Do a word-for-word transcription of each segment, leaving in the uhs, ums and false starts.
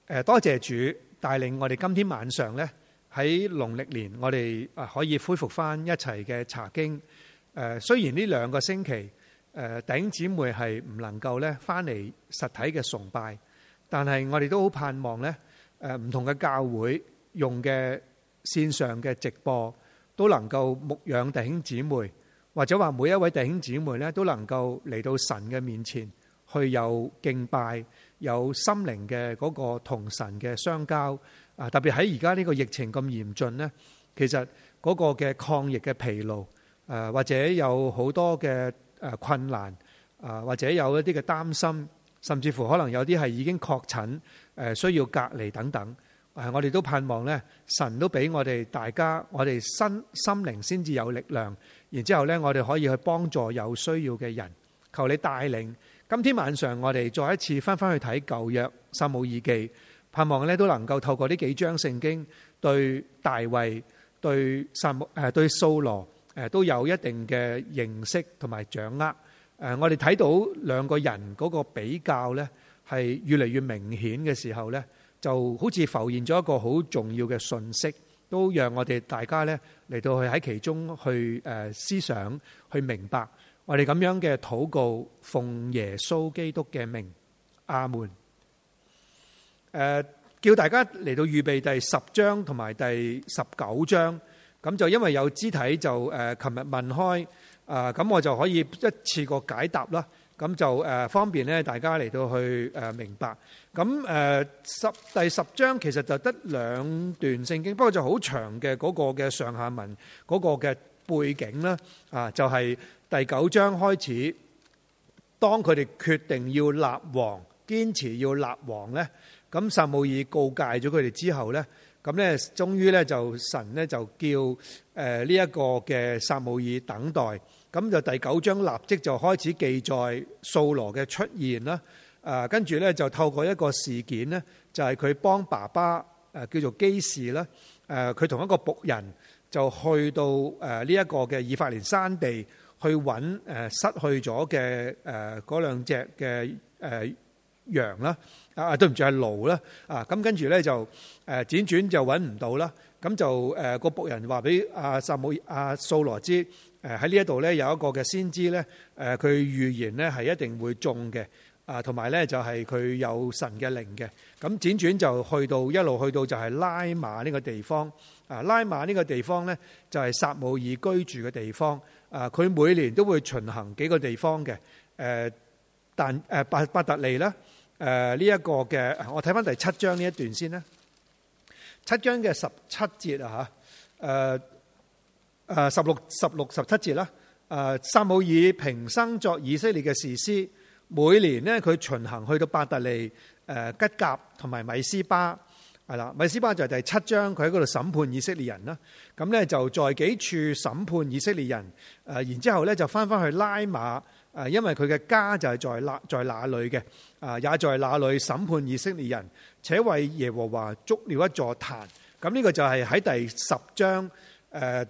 誒多謝主帶領我哋今天晚上咧喺農曆年，我哋啊可以恢復翻一齊嘅查經。誒雖然呢兩個星期誒弟兄姊妹係唔能夠咧翻嚟實體嘅崇拜，但係我哋都好盼望咧誒唔同嘅教會用嘅線上嘅直播都能夠牧養弟兄姊妹，或者話每一位弟兄姊妹咧都能夠嚟到神嘅面前去有敬拜，有心靈嘅嗰個同神嘅相交啊！特別喺而家呢個疫情咁嚴峻呢，其實嗰個嘅抗疫嘅疲勞，誒或者有好多嘅誒困難啊，或者有一啲嘅擔心，甚至乎可能有啲係已經確診誒需要隔離等等。誒，我哋都盼望呢，神都俾我哋大家，我哋身心靈先至有力量，然之後呢，我哋可以去幫助有需要嘅人。求你帶領。今天晚上我哋再一次翻翻去睇舊約撒母耳記，盼望咧都能夠透過呢幾章聖經對大衛、對撒母誒對掃羅誒都有一定嘅認識同埋掌握。誒，我哋睇到兩個人嗰個比較咧係越嚟越明顯嘅時候咧，就好似浮現咗一個好重要嘅訊息，都讓我哋大家咧嚟到去喺其中去誒思想去明白。我哋咁樣嘅禱告，奉耶穌基督嘅名，阿門。誒，叫大家嚟到預備第十章同埋第十九章，咁就因為有肢體就誒，琴日問開，啊，咁我就可以一次過解答啦。咁就誒方便咧，大家嚟到去誒明白。咁誒十第十章其實就得兩段聖經，不過就好長嘅嗰個嘅上下文嗰個嘅背景啦，啊，就係。第九章開始，當佢哋決定要立王，堅持要立王呢，咁撒母耳告誡咗佢哋之後呢，咁呢終於呢就神呢就叫誒呢一個嘅撒母耳等待，咁就第九章立即就開始記載掃羅嘅出現啦，誒跟住呢就透過一個事件呢，就係佢幫爸爸誒叫做基士啦，誒佢同一個僕人就去到誒呢一個嘅以法蓮山地。去揾誒失去咗嘅誒嗰兩隻嘅誒羊啦，啊對唔住係驢啦，啊咁跟住咧就誒輾轉就揾唔到啦，咁就誒個僕人話俾阿撒母阿掃羅知，誒喺呢一度咧有一個嘅先知咧，誒佢預言咧係一定會中嘅，啊同埋咧就係佢有神嘅靈嘅，咁輾轉就去到一路去到就係拉馬呢個地方，啊拉馬呢個地方咧就係撒母耳居住嘅地方。啊！佢每年都會巡行幾個地方嘅，誒，但誒伯伯特利啦，誒呢一個嘅，我睇翻第七章呢一段先啦。七章嘅十七節啊嚇，誒誒十六十六十七節啦。誒撒母耳平生作以色列嘅士師，每年呢，佢巡行去到伯特利、誒吉甲同埋米斯巴。係啦，米斯巴就係第七章，佢喺嗰度審判以色列人啦。咁咧就在幾處審判以色列人，誒然之後咧就翻翻去拉馬，誒因為佢嘅家就係在那在那裏嘅，啊也在那裏審判以色列人，且為耶和華築了一座壇。咁呢個就係喺第十章，誒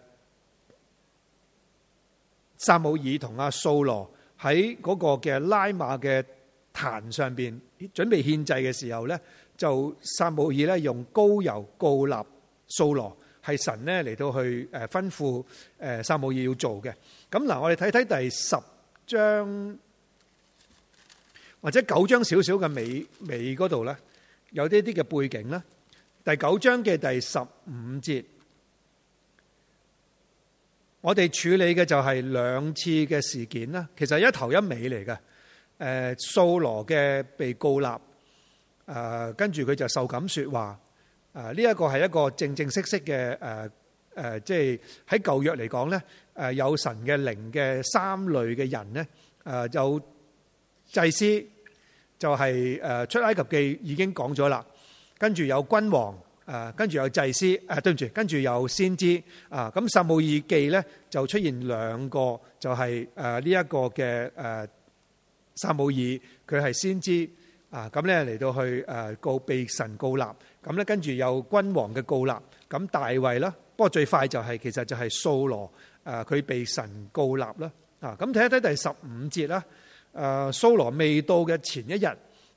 撒母耳同阿掃羅喺嗰個嘅拉馬嘅壇上邊準備獻祭嘅時候咧。就撒母耳咧用膏油膏立掃羅，係神咧嚟到去誒吩咐誒撒母耳要做嘅。咁嗱，我哋睇睇第十章或者九章少少嘅尾尾嗰度咧，有啲啲嘅背景啦。第九章嘅第十五節，我哋處理嘅就係兩次嘅事件啦。其實一頭一尾嚟嘅。誒掃羅嘅被膏立。誒跟住佢就受感説話，誒呢一個係一個正正式式嘅誒誒，即係喺舊約嚟講咧，誒有神嘅靈嘅三類嘅人咧，誒有祭司，就係誒出埃及記已經講咗啦，跟住有君王，誒跟住有祭司，誒對唔住，跟住有先知，啊咁撒母耳記咧就出現兩個，就係誒呢一個嘅誒撒母耳，佢係先知。啊，咁咧嚟到去誒告被神膏立，咁咧跟住有君王嘅膏立，咁大衛啦，不過最快就係、是、其實就係掃羅，誒佢被神膏立啦。啊，咁睇一睇第十五節啦，誒掃羅未到嘅前一日，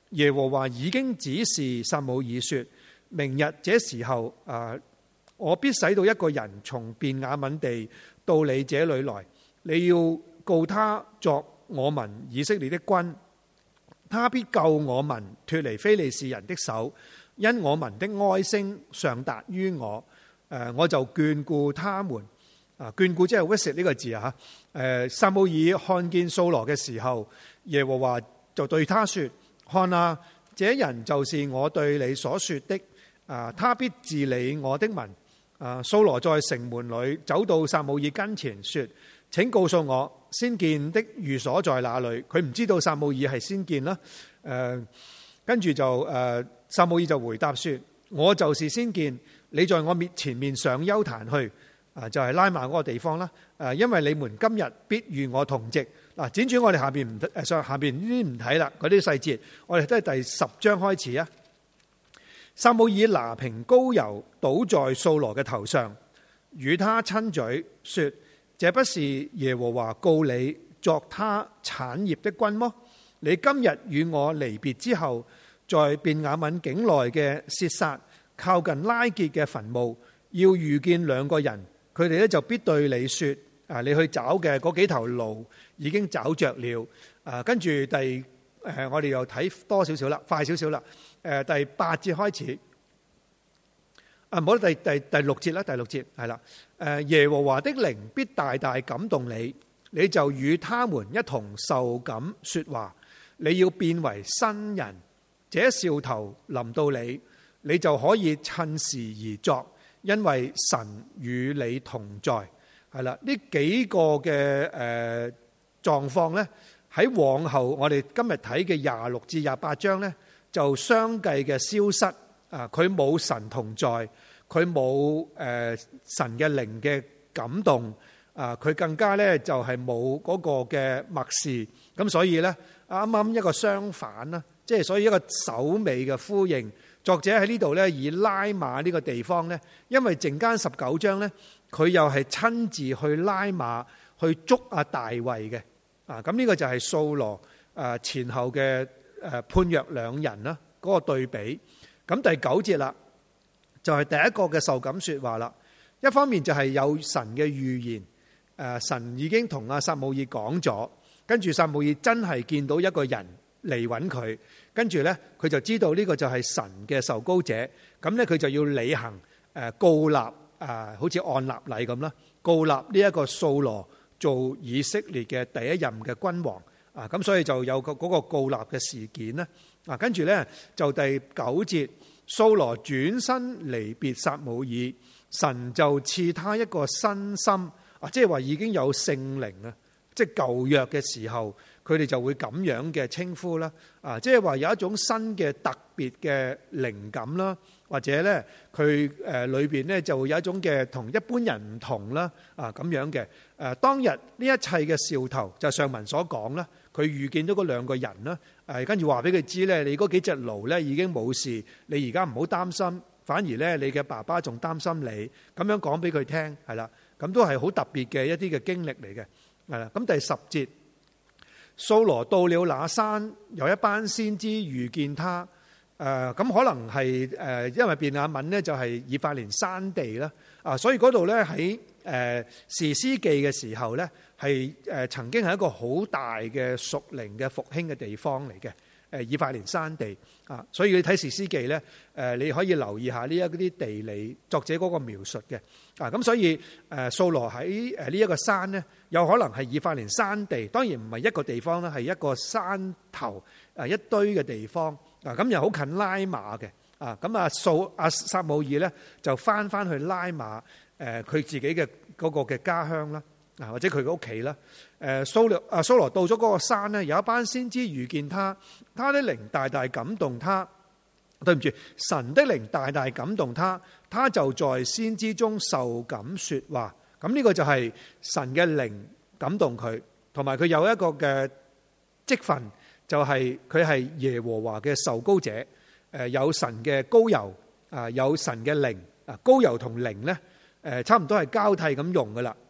耶和華已經指示撒母耳說，明日這時候啊，我必使到一個人從便雅憫地到你這裏來，你要告他作我民以色列的君，他必救我民脫離非利士人的手，因我民的哀聲上達於我，誒，我就眷顧他們。啊，眷顧即係 visit 呢個字啊，誒，撒母耳看見掃羅嘅時候，耶和華就對他說：看啊，這人就是我對你所說的，啊，他必治理我的民。啊，掃羅在城門裏走到撒母耳跟前說：請告訴我先見的寓所在哪裏？佢唔知道撒母耳係先見啦。誒，跟住就誒，撒母耳就回答說：我就是先見，你在我面前面上丘壇去。啊，就係拉馬嗰個地方啦。誒，因為你們今日必與我同席。嗱，輾轉我哋下邊唔誒上下邊呢啲唔睇啦，嗰啲細節，我哋都係第十章開始啊。撒母耳拿瓶膏油倒在掃羅嘅頭上，與他親嘴說：這不是耶和華告你作他產業的君麼？你今日與我離別之後，在便雅憫境內嘅薛撒靠近拉結嘅墳墓，要遇見兩個人。佢哋咧就必對你說：啊，你去找嘅嗰幾頭驢已經找着了。啊，跟住第誒，我哋又睇多少少啦，快少少啦。誒，第八節開始。啊，唔好，第第第六節啦，第六節係啦。誒，耶和華的靈必大大感動你，你就與他們一同受感說話。你要變為新人，這兆頭臨到你，你就可以趁時而作。因為神與你同在，係啦，呢幾個嘅誒狀況咧，喺往後我哋今日睇嘅廿六至廿八章咧，就相繼嘅消失啊！佢冇神同在，佢冇誒神嘅靈嘅感動啊！佢更加咧就係冇嗰個嘅默示，咁所以咧啱啱一個相反啦，即係所以一個首尾嘅呼應。作者喺呢度咧，以拉馬呢個地方咧，因為陣間十九章咧，佢又係親自去拉馬去捉阿大衛嘅啊！咁呢個就係掃羅誒前後嘅誒判若兩人啦，嗰個對比。咁第九節啦，就係第一個嘅受感說話啦。一方面就係有神嘅預言，誒神已經同阿撒母耳講咗，跟住撒母耳真係見到一個人嚟揾佢。跟住咧，佢就知道呢個就係神嘅受膏者，咁咧佢就要履行誒膏立啊，好似按立禮咁啦，膏立呢一個掃羅做以色列嘅第一任嘅君王啊，咁所以就有個嗰個膏立嘅事件咧啊，跟住咧就第九節，掃羅轉身離別撒母耳，神就賜他一個新心啊，即係話已經有聖靈啊，即係舊約嘅時候。佢哋就會咁樣嘅稱呼啦，啊，即係話有一種新嘅特別嘅靈感啦，或者咧佢誒裏邊咧就會有一種嘅同一般人唔同啦，啊咁樣嘅誒當日呢一切嘅兆頭就上文所講啦，佢遇見咗嗰兩個人啦，誒跟住話俾佢知咧，你嗰幾隻驢咧已經冇事，你而家唔好擔心，反而咧你嘅爸爸仲擔心你，咁樣講俾佢聽係啦，咁都係好特別嘅一啲嘅經歷嚟嘅，係啦，咁第十節。掃羅到了那山，有一班先知遇見他。誒、呃，咁可能係誒、呃，因為便雅憫咧就係以法蓮山地啦。啊，所以嗰度咧喺誒士師記嘅時候咧，係誒曾經係一個好大嘅屬靈嘅復興嘅地方嚟嘅。誒，以法蓮山地啊，所以你睇士師記咧，誒你可以留意下呢一啲地理作者嗰個描述嘅。啊，咁所以誒掃羅喺誒呢一個山咧，有可能係以法蓮山地，當然唔係一個地方啦，係一個山頭誒一堆嘅地方。啊，咁又好近拉馬嘅。啊，咁啊掃阿撒母耳咧就翻翻去拉馬誒佢自己嘅嗰個嘅家鄉啦，啊或者佢嘅屋企啦。誒掃羅啊掃羅到咗嗰個山咧，有一班先知遇見他，他的靈大大感動他。對唔住，神的靈大大感動他，他就在先知中受感說話。咁呢個就係神嘅靈感動佢，同埋佢有一個嘅職分，就係佢係耶和華嘅受膏者。誒有神嘅膏油啊，有神嘅靈啊，膏油同靈咧誒差唔多係交替咁用噶啦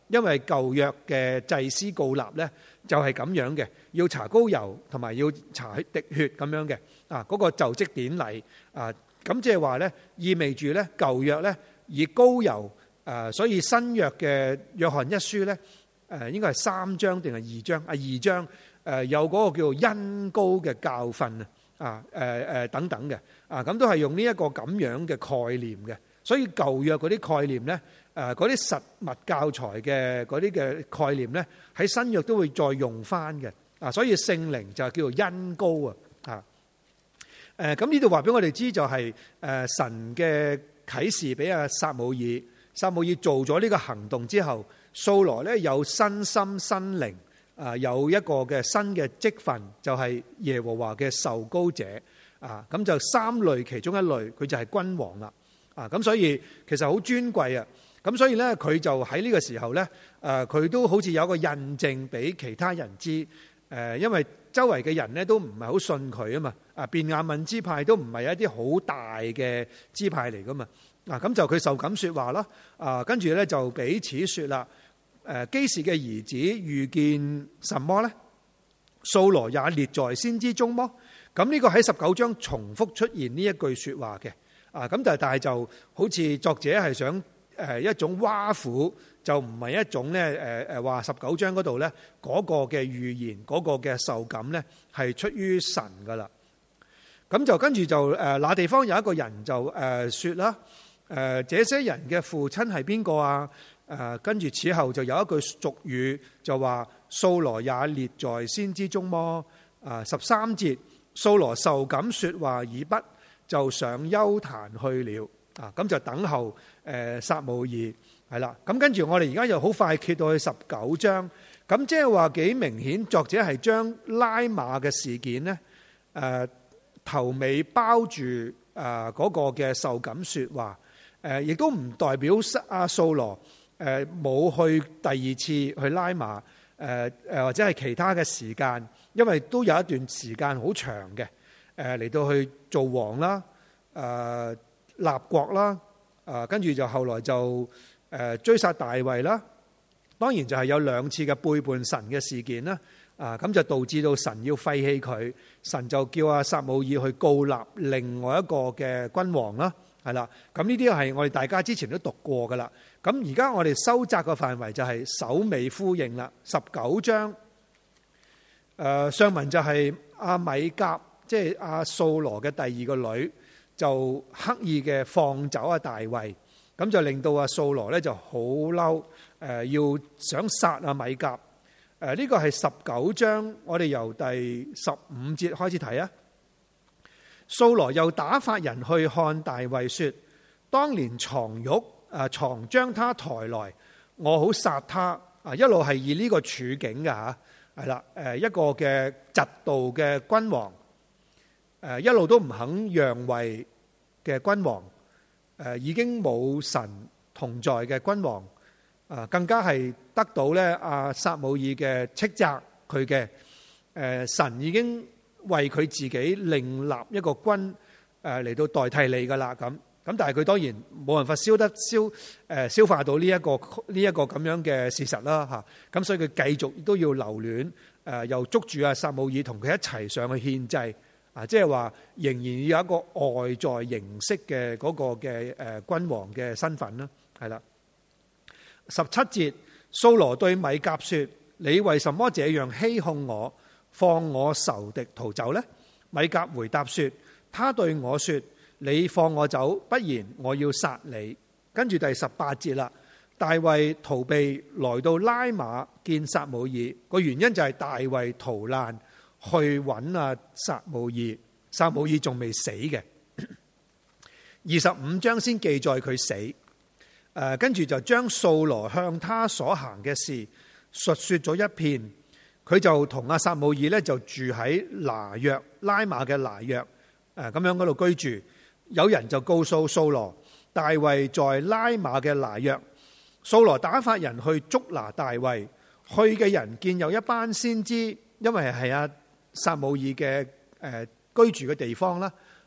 因為舊約嘅祭司膏立咧就係咁樣嘅，要搽膏油同埋要搽滴血咁樣嘅啊，嗰個就職典禮啊，咁即係話咧意味住咧舊約咧以膏油誒，所以新約嘅約翰一書咧誒應該係三章定係二章啊，二章誒有嗰個叫做恩膏嘅教訓啊啊誒誒等等嘅啊，咁都係用呢一個咁樣嘅概念嘅，所以舊約嗰啲概念咧誒嗰啲實物教材嘅嗰啲嘅概念咧喺新約都會再用翻嘅啊，所以聖靈就係叫做恩膏啊啊誒咁呢度話俾我哋知就係誒神嘅啟示俾阿撒母耳，撒母耳做咗呢個行動之後，掃羅咧有新心新靈。啊，有一個嘅新嘅職分，就係耶和華嘅受膏者啊，咁就三類其中一類，佢就係君王啦啊，咁所以其實好尊貴啊，咁所以咧佢就喺呢個時候咧，誒佢都好似有一個印證俾其他人知，誒因為周圍嘅人咧都唔係好信佢啊嘛，啊便雅憫支派都唔係一啲好大嘅支派嚟噶嘛，啊咁就佢受感說話啦，啊跟住咧就彼此說啦。誒基士嘅兒子遇見什麼呢？掃羅也列在先知中麼？咁呢個喺十九章重複出現呢一句說話嘅，啊咁但係但係就好似作者係想誒一種挖苦，就唔係一種咧誒誒話十九章嗰度咧嗰個嘅預言嗰個嘅受感咧係出於神噶啦。咁就跟住就誒那地方有一個人就誒說啦，誒這些人嘅父親係邊個啊？誒跟住此後就有一句俗語就話掃羅也列在先知中麼？啊十三節，掃羅受感說話已畢，就上邱壇去了。啊咁就等候誒撒母耳係啦。咁跟住我哋而家又好快揭到去十九章。咁即係話幾明顯，作者係將拉馬嘅事件呢誒頭尾包住誒嗰個嘅受感說話。誒亦都唔代表阿掃羅。誒冇去第二次去拉馬，誒誒或者係其他嘅時間，因為都有一段時間好長嘅，誒嚟到去做王啦，誒立國啦，誒跟住就後來就誒追殺大衛啦，當然就係有兩次嘅背叛神嘅事件啦，啊咁就導致到神要廢棄佢，神就叫阿撒母耳去膏立另外一個嘅君王啦。係啦，咁呢啲係我哋大家之前都讀過噶啦。咁而家我哋收窄個範圍就係首尾呼應啦。十九章，誒上文就係阿米甲，即係阿掃羅嘅第二個女，就刻意嘅放走阿大衛，咁就令到阿掃羅咧就好嬲，誒要想殺阿米甲。誒呢個係十九章，我哋由第十五節開始睇啊。掃羅又打發人去看大衛，說：當年床褥啊，床將他抬來，我好殺他啊！一路係以呢個處境嘅吓，係啦，誒一個嘅嫉妒嘅君王，誒一路都唔肯讓位嘅君王，誒已經冇神同在嘅君王，啊更加係得到咧阿撒母耳嘅斥責佢嘅，誒神已經。為佢自己另立一個君誒嚟到代替你噶啦，咁咁但係佢當然冇辦法消得消誒消化到呢一個呢一個咁樣嘅事實啦吓，咁所以佢繼續都要留戀誒，又捉住阿撒母耳同佢一齊上去獻祭啊，即係話仍然要有一個外在形式嘅嗰個嘅誒君王嘅身份啦，係啦。十七節，掃羅對米甲說：你為什麼這樣欺哄我？放我仇敵逃走呢？米甲回答說：他對我說，你放我走，不然我要殺你。跟住第十八節啦，大衛逃避來到拉馬見撒母耳，個原因就係大衛逃難去揾阿撒母耳，撒母耳仲未死嘅。二十五章先記載佢死，誒，跟住就將掃羅向他所行嘅事述說咗一遍。佢就同阿撒母耳咧就住喺拿約拉馬嘅拿約，誒咁樣嗰度居住。有人就告訴掃羅，大衛在拉馬嘅拿約。掃羅打發人去捉拿大衛，去嘅人見有一班先知，因為係阿撒母耳嘅誒居住嘅地方啦。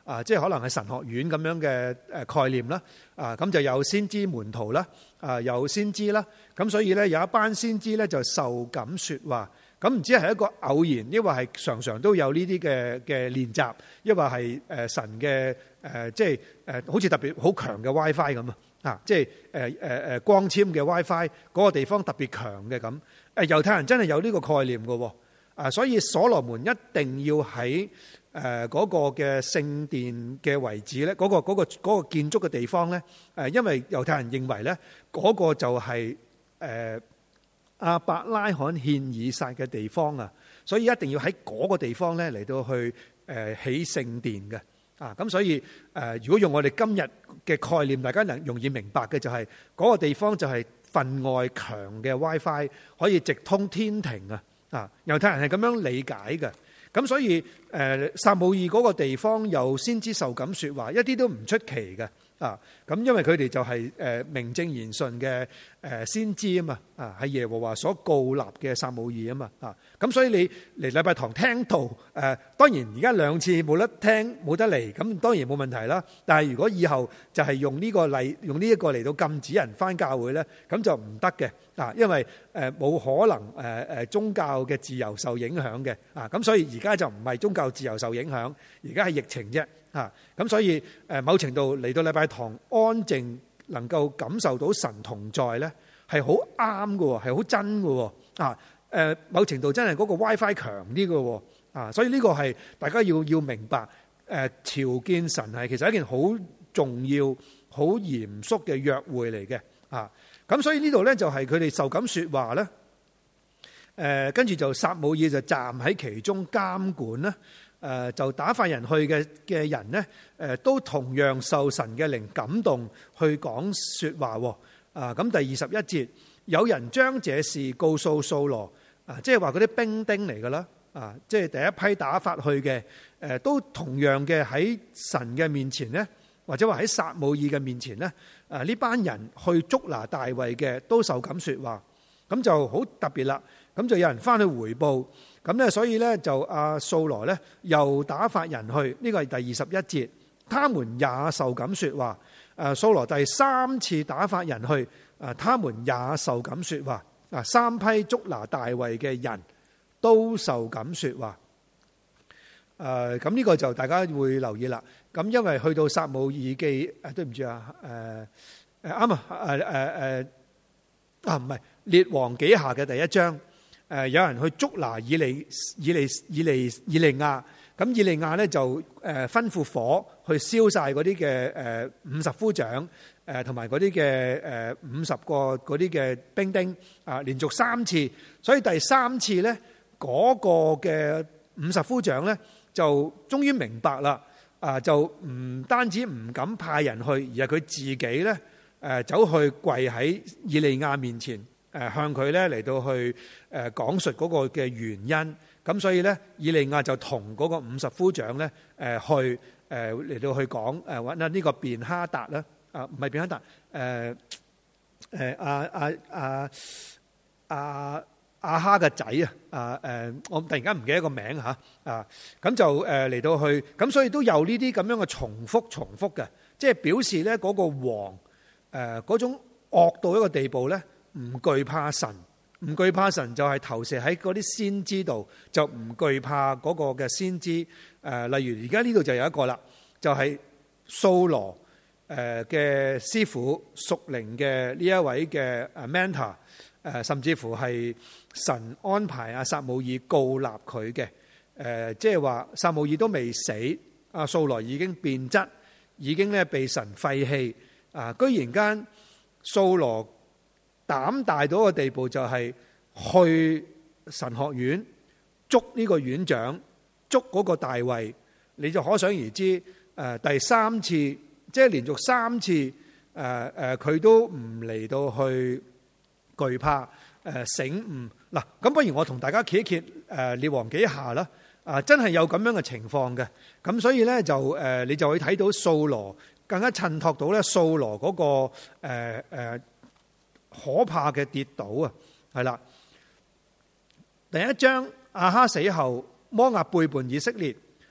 啊，即係可能係神學院咁樣嘅誒概念啦，啊咁就有先知門徒啦，啊有先知啦，咁所以咧有一班先知咧就受感說話，咁唔知係一個偶然，抑或係常常都有呢啲嘅嘅練習，抑或係誒神嘅誒即係誒好似特別好強嘅 WiFi 咁啊，啊即係誒誒誒光纖嘅 WiFi 嗰個地方特別強嘅咁，誒猶太人真係有呢個概念嘅喎，啊所以所羅門一定要喺誒嗰個嘅聖殿嘅位置咧，嗰個嗰個嗰個建築嘅地方咧，誒，因為猶太人認為咧，嗰個就係誒亞伯拉罕獻以撒嘅地方啊，所以一定要喺嗰個地方咧嚟到去誒起聖殿嘅啊，咁所以誒，如果用我哋今日嘅概念，大家能容易明白嘅就係嗰個地方就係分外強嘅 WiFi，可以直通天庭啊！啊，猶太人係咁樣理解嘅。咁所以誒撒母耳嗰個地方有先知受感說話，一啲都唔出奇嘅啊！咁因為佢哋就係誒名正言順嘅誒先知啊嘛，啊係耶和華所膏立嘅撒母耳啊嘛，啊咁所以你嚟禮拜堂聽道誒，當然而家兩次冇得聽冇得嚟，咁當然冇問題啦。但係如果以後就係用呢個例，用呢一個嚟到禁止人返教會咧，咁就唔得嘅啊，因為誒冇可能誒誒宗教嘅自由受影響嘅啊，咁所以而家就唔係宗教自由受影響，而家係疫情啫。啊，咁所以誒某程度嚟到禮拜堂安靜，能夠感受到神同在咧，係好啱嘅，係好真嘅。啊，誒某程度真係嗰個 WiFi 強啲嘅。啊，所以呢個係大家要要明白。誒朝見神係其實一件好重要、好嚴肅嘅約會嚟嘅。啊，咁所以呢度咧就係佢哋受感説話咧。誒跟住就撒母耳就站喺其中監管啦。誒就打發人去嘅嘅人呢，誒都同樣受神嘅靈感動去講説話喎。啊，咁第二十一節，有人將這事告訴掃羅，啊，即係話嗰啲兵丁嚟㗎啦，啊，即係第一批打發去嘅，誒都同樣嘅喺神嘅面前呢，或者話喺撒母耳嘅面前呢，啊呢班人去捉拿大衛嘅都受感説話，咁就好特別啦。咁就有人翻去回報。咁咧，所以咧就阿掃羅咧又打發人去，呢個係第二十一節，他們也受感説話。誒，掃羅第三次打發人去，誒，他們也受感説話。啊，三批捉拿大衛嘅人都受感説話。誒，咁呢個就大家會留意啦。咁因為去到撒母耳記，誒，對唔住啊，誒誒啱啊，誒誒誒啊，唔係列王紀下嘅第一章。誒有人去捉拿以利以利以利以利亞，咁以利亞咧就誒吩咐火去燒晒嗰啲嘅誒五十夫長，誒同埋嗰啲嘅誒五十個嗰啲嘅兵丁啊，連續三次，所以第三次咧嗰個嘅五十夫長咧就終於明白啦，啊就唔單止唔敢派人去，而係佢自己咧誒走去跪喺以利亞面前。誒向佢咧嚟到去誒講述嗰個嘅原因，咁所以咧以利亞就同嗰個五十夫長咧誒去誒嚟到去講誒揾下呢個便哈達啦，啊唔係便哈達，誒誒阿阿阿阿阿哈嘅仔啊，啊誒我突然間唔記得個名嚇啊，咁就誒嚟到去，咁所以都有呢啲咁樣嘅重複重複嘅，即係表示咧嗰個王誒嗰種惡到一個地步咧。唔懼怕神，唔懼怕神就係投射喺嗰啲先知度，就唔懼怕嗰個嘅先知。誒，例如而家呢度就有一個啦，就係掃羅誒嘅師傅屬靈嘅呢一位嘅誒 mentor，誒甚至乎係神安排阿撒母耳膏立佢嘅。誒，即係話撒母耳都未死，阿掃羅已經變質，已經咧被神廢棄。啊，居然間掃羅膽大到一個地步，就係去神學院捉呢個院長，捉嗰個大衛，你就可想而知。誒，第三次即係連續三次，誒誒，佢都唔嚟到去懼怕，誒醒悟嗱。咁不如我同大家揭一揭誒列王紀下啦。啊，真係有咁樣嘅情況嘅。咁所以咧就誒，你就會睇到掃羅更加襯托到咧掃羅嗰個誒誒。可怕嘅跌倒啊，係啦。第一章亞哈死後，摩押背叛以色列，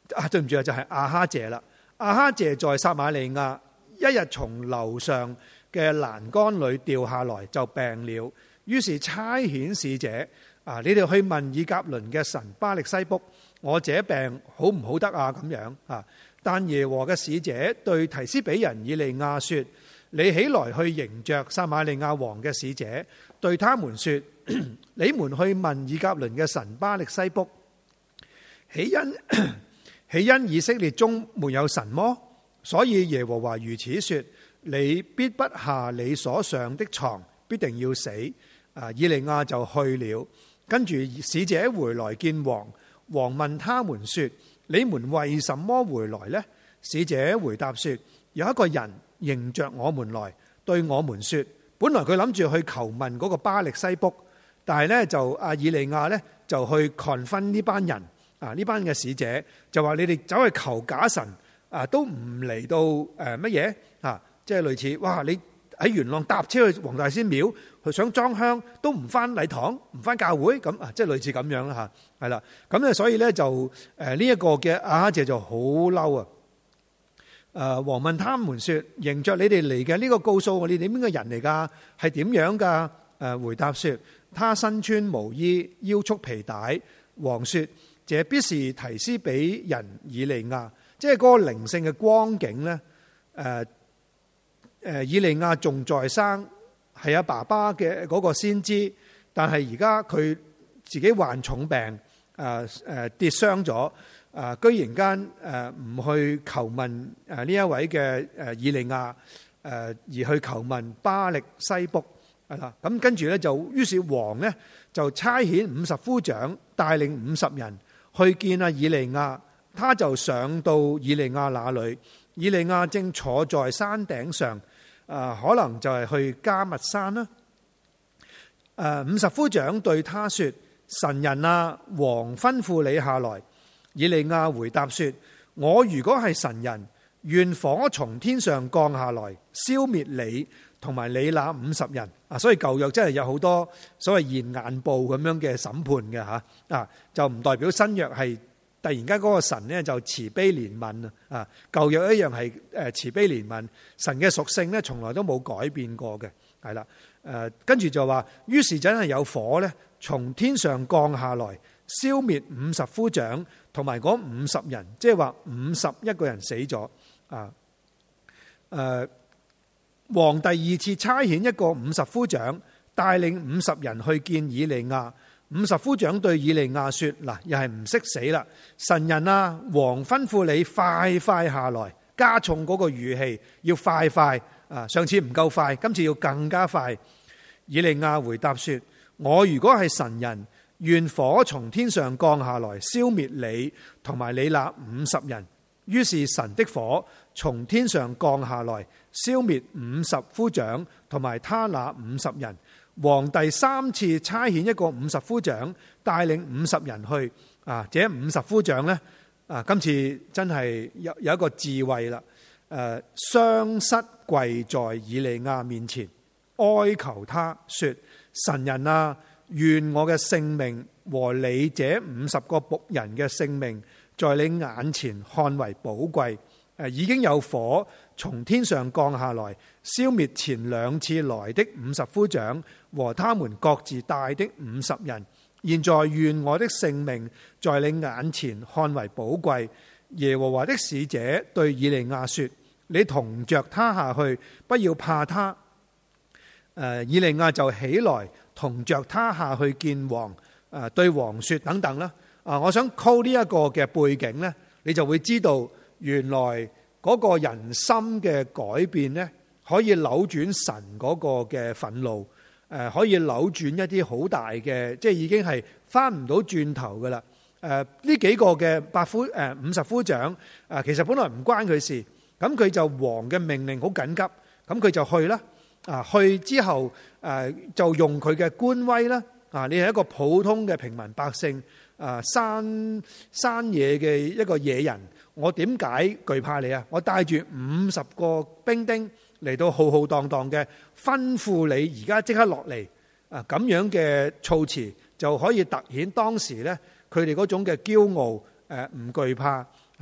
啊，對唔住啊，就係亞哈謝啦。亞哈謝在撒瑪利亞，一日從樓上嘅欄杆裏掉下來，就病了。於是差遣使者啊，你哋去問以革倫嘅神巴力西卜，我這病好唔好得啊？咁樣啊。但耶和嘅使者對提斯比人以利亞說：你起來去迎着撒瑪利亞王嘅使者，對他們說：你們去問以革倫嘅神巴力西卜，豈因豈因以色列中沒有神麼？所以耶和華如此說：你必不下你所上的床，必定要死。啊，以利亞就去了。跟住使者回來見王，王問他們說：你們為什麼回來呢？使者回答說：有一個人迎着我們來，對我們說，本來佢諗住去求問嗰個巴力西卜，但係呢，就阿以利亞呢，就去 confront 呢班人啊，呢班嘅使者就話：你哋走去求假神啊，都唔嚟到誒乜嘢啊？即係類似哇！你喺元朗搭車去黃大仙廟，佢想裝香都唔翻禮堂，唔翻教會咁啊！即係類似咁樣啦嚇，係啦。咁咧，所以咧就誒呢一個嘅亞哈謝就好嬲啊！誒，王問他們說：迎着你哋嚟嘅呢個告訴我，你哋邊個人嚟㗎？係點樣㗎？誒，回答說：他身穿毛衣，腰束皮帶。王說：這必是提斯比人以利亞，即係嗰個靈性嘅光景咧。誒。誒，以利亞仲在生，係阿爸爸嘅嗰個先知，但係而家佢自己患重病，誒誒跌傷咗，誒居然間誒唔去求問誒呢一位嘅誒以利亞，誒而去求問巴力西卜係啦。咁跟住咧就，於是王咧就差遣五十夫長帶領五十人去見阿以利亞，他就上到以利亞那裏，以利亞正坐在山頂上。啊，可能就係去迦密山啦。誒，五十夫長對他說：神人啊，王吩咐你下來。以利亞回答說：我如果係神人，願火從天上降下來，消滅你同埋你那五十人。啊，所以舊約真係有好多所謂現眼報咁樣嘅審判嘅吓。啊，就唔代表新約係突然間嗰個神咧就慈悲憐憫啊！舊約一樣係誒慈悲憐憫，神嘅屬性咧從來都冇改變過嘅，係啦。誒跟住就話，於是真係有火咧從天上降下來，消滅五十夫長同埋嗰五十人，即係話五十一個人死咗啊！誒，王第二次差遣一個五十夫長帶領五十人去見以利亞。五十夫長對以利亞說：嗱，又係唔識死啦！神人啊，王吩咐你快快下來，加重嗰個語氣，要快快啊！上次唔夠快，今次要更加快。以利亞回答說：我如果係神人，願火從天上降下來，消滅你同埋你那五十人。於是神的火從天上降下來，消滅五十夫長同埋他那五十人。王第三次差遣一個五十夫長帶領五十人去啊！這五十夫長呢，啊，今次真係有有一個智慧啦。誒，雙膝跪在以利亞面前，哀求他說：神人啊，願我嘅性命和你這五十個僕人嘅性命，在你眼前看為寶貴。誒，已經有火從天上降下來，消滅前兩次來的五十夫長和他們各自帶的五十人。現在願我的性命在你眼前看為寶貴。耶和華的使者對以利亞說：你同着他下去，不要怕他。誒，以利亞就起來同着他下去見王。誒，對王說等等啦。啊，我想 call 呢一個嘅背景呢，你就會知道。原來嗰個人心嘅改變呢，可以扭轉神嗰個嘅憤怒，誒，可以扭轉一啲好大嘅，即係已經係翻唔到轉頭噶啦。誒，呢幾個嘅百夫誒五十夫長，誒，其實本來唔關佢事，咁佢就王嘅命令好緊急，咁佢就去啦。啊，去之後誒就用佢嘅官威啦。啊，你係一個普通嘅平民百姓，啊，山山野嘅一個野人。我點解懼怕你啊？我帶住五十個兵丁嚟到浩浩蕩蕩嘅吩咐你而家即刻落嚟啊！咁樣嘅措辭就可以突顯當時咧佢哋嗰種嘅驕傲，誒，唔懼怕係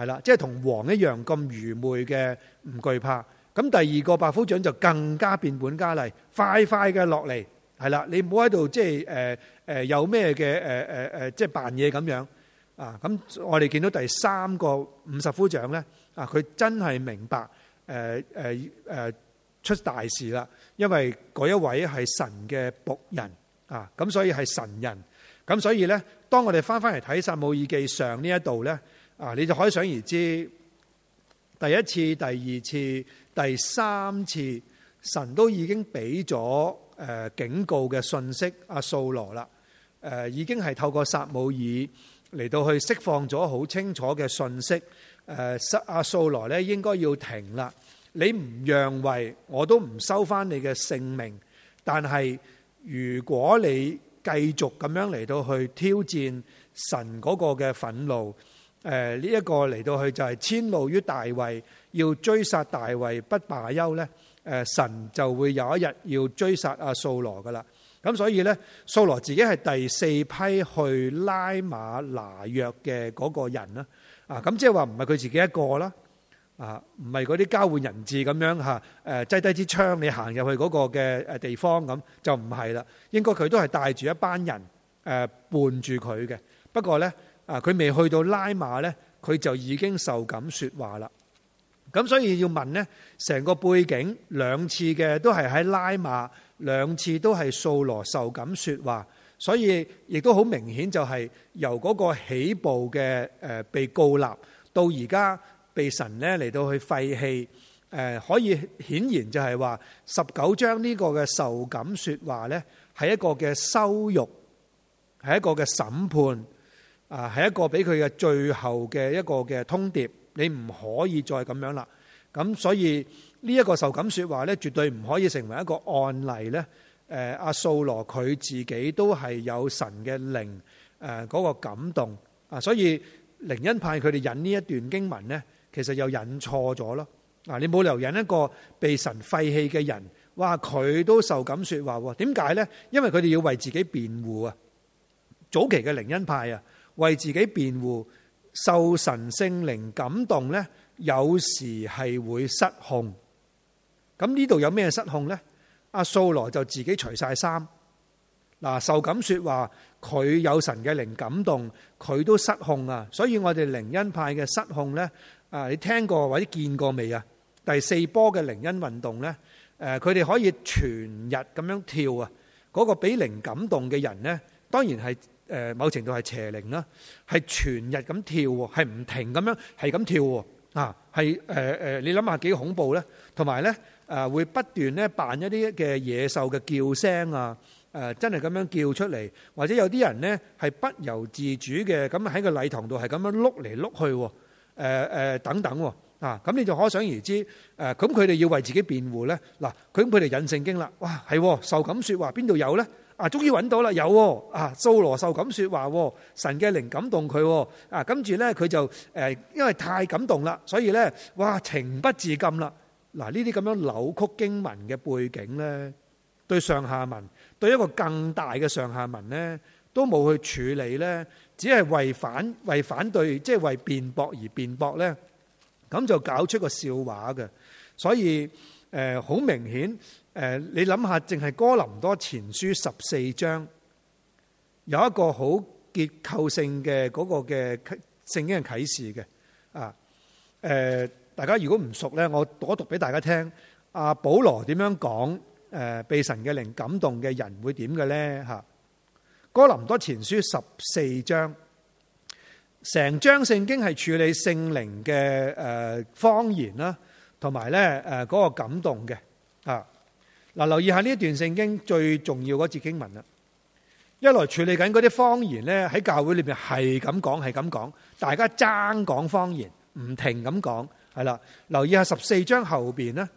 係啦，即係同王一樣咁愚昧嘅唔懼怕。咁第二個百夫長就更加變本加厲，快快嘅落嚟，係啦，你唔好喺度即係誒誒有咩嘅誒誒誒即係扮嘢咁樣啊！咁我哋見到第三個五十夫長咧啊，佢真係明白誒誒誒出大事啦，因為嗰一位係神嘅僕人啊，咁所以係神人，咁所以咧，當我哋翻翻嚟睇撒母耳記上呢一度咧啊，你就可以想而知，第一次、第二次、第三次，神都已經俾咗誒警告嘅信息，阿掃羅啦，誒已經係透過撒母耳嚟到去釋放咗好清楚嘅信息，誒阿掃羅咧應該要停啦，你唔讓位，我都唔收翻你嘅性命，但係如果你繼續咁樣嚟到去挑戰神嗰個嘅憤怒。誒呢一個嚟到去就係遷怒於大衛，要追殺大衛不罷休咧。誒神就會有一日要追殺阿掃羅噶啦。咁所以咧，掃羅自己係第四批去拉馬拿約嘅嗰個人啦。啊，咁即係話唔係佢自己一個啦。啊，唔係嗰啲交換人質咁樣嚇。誒擠低支槍，你行入去嗰個嘅誒地方咁就唔係啦。應該佢都係帶住一班人誒伴住佢嘅。不過咧。啊！佢未去到拉馬咧，佢就已經受感說話啦。咁所以要問呢，成個背景兩次嘅都係喺拉馬，兩次都係掃羅受感說話，所以亦都好明顯就係由嗰個起步嘅誒被膏立到而家被神咧嚟到去廢棄。誒可以顯然就係話十九章呢個嘅受感說話咧，係一個嘅羞辱，係一個嘅審判。啊，係一個俾佢嘅最後嘅一個嘅通牒，你唔可以再咁樣啦。咁所以呢一個受感說話咧，絕對唔可以成為一個案例咧。誒，阿掃羅佢自己都係有神嘅靈誒嗰個感動啊，所以靈恩派佢哋引呢一段經文咧，其實又引錯咗咯。啊，你冇理由引一個被神廢棄嘅人，哇，佢都受感說話喎？點解咧？因為佢哋要為自己辯護啊。早期嘅靈恩派啊。為自己辯護，受神聖靈感動咧，有時係會失控。咁呢度有咩失控咧？阿掃羅就自己除晒衫。嗱，受感說話，佢有神嘅靈感動，佢都失控啊！所以我哋靈恩派嘅失控咧，啊，你聽過或者見過未啊？第四波嘅靈恩運動咧，誒，佢哋可以全日咁樣跳啊！嗰個俾靈感動嘅人咧，當然係。誒某程度係邪靈啦，係全日咁跳喎，係唔停咁樣係咁跳喎，啊係誒誒，你諗下幾恐怖咧？同埋咧誒會不斷咧扮一啲嘅野獸嘅叫聲啊，誒真係咁樣叫出嚟，或者有啲人咧係不由自主嘅咁喺個禮堂度係咁樣碌嚟碌去，誒誒等等啊，咁你就可想而知誒，咁佢哋要為自己辯護咧，嗱佢咁佢哋引聖經啦，哇係受感說話邊度有咧？啊，終於揾到啦，有喎！啊，掃羅受感說話，神嘅靈感動佢，啊，跟住咧佢就誒，因為太感動啦，所以咧，哇，情不自禁啦。嗱，呢啲咁樣扭曲經文嘅背景咧，對上下文，對一個更大嘅上下文咧，都冇去處理咧，只係為反為反對，即係為辯駁而辯駁咧，咁就搞出個笑話嘅。所以誒，好明顯。誒，你諗下，淨係哥林多前書十四章有一個好結構性嘅嗰個嘅聖經嘅啟示嘅啊。誒，大家如果唔熟咧，我讀一讀俾大家聽。阿保羅點樣講？誒，被神嘅靈感動嘅人會點嘅咧？嚇，哥林多前書十四章，成章聖經係處理聖靈嘅誒方言啦，同埋咧誒嗰個感動嘅啊。嗱，留意下呢一段聖經最重要嗰節經文啦。一來處理緊嗰啲方言咧，喺教會裏邊係咁講，係咁講，大家爭講方言，唔停咁講，係啦。留意下十四章後邊咧，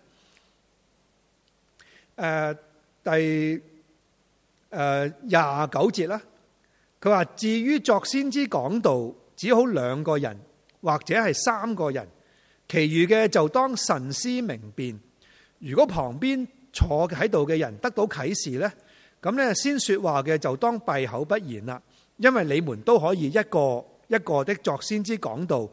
誒第誒廿九節啦。佢話至於作先知講道，只好兩個人或者係三個人，其餘嘅就當慎思明辨。如果旁邊坐喺度嘅人得到啟示呢，咁呢先說話嘅就當閉口不言啦，因為你們都可以一個一個的作先知講道，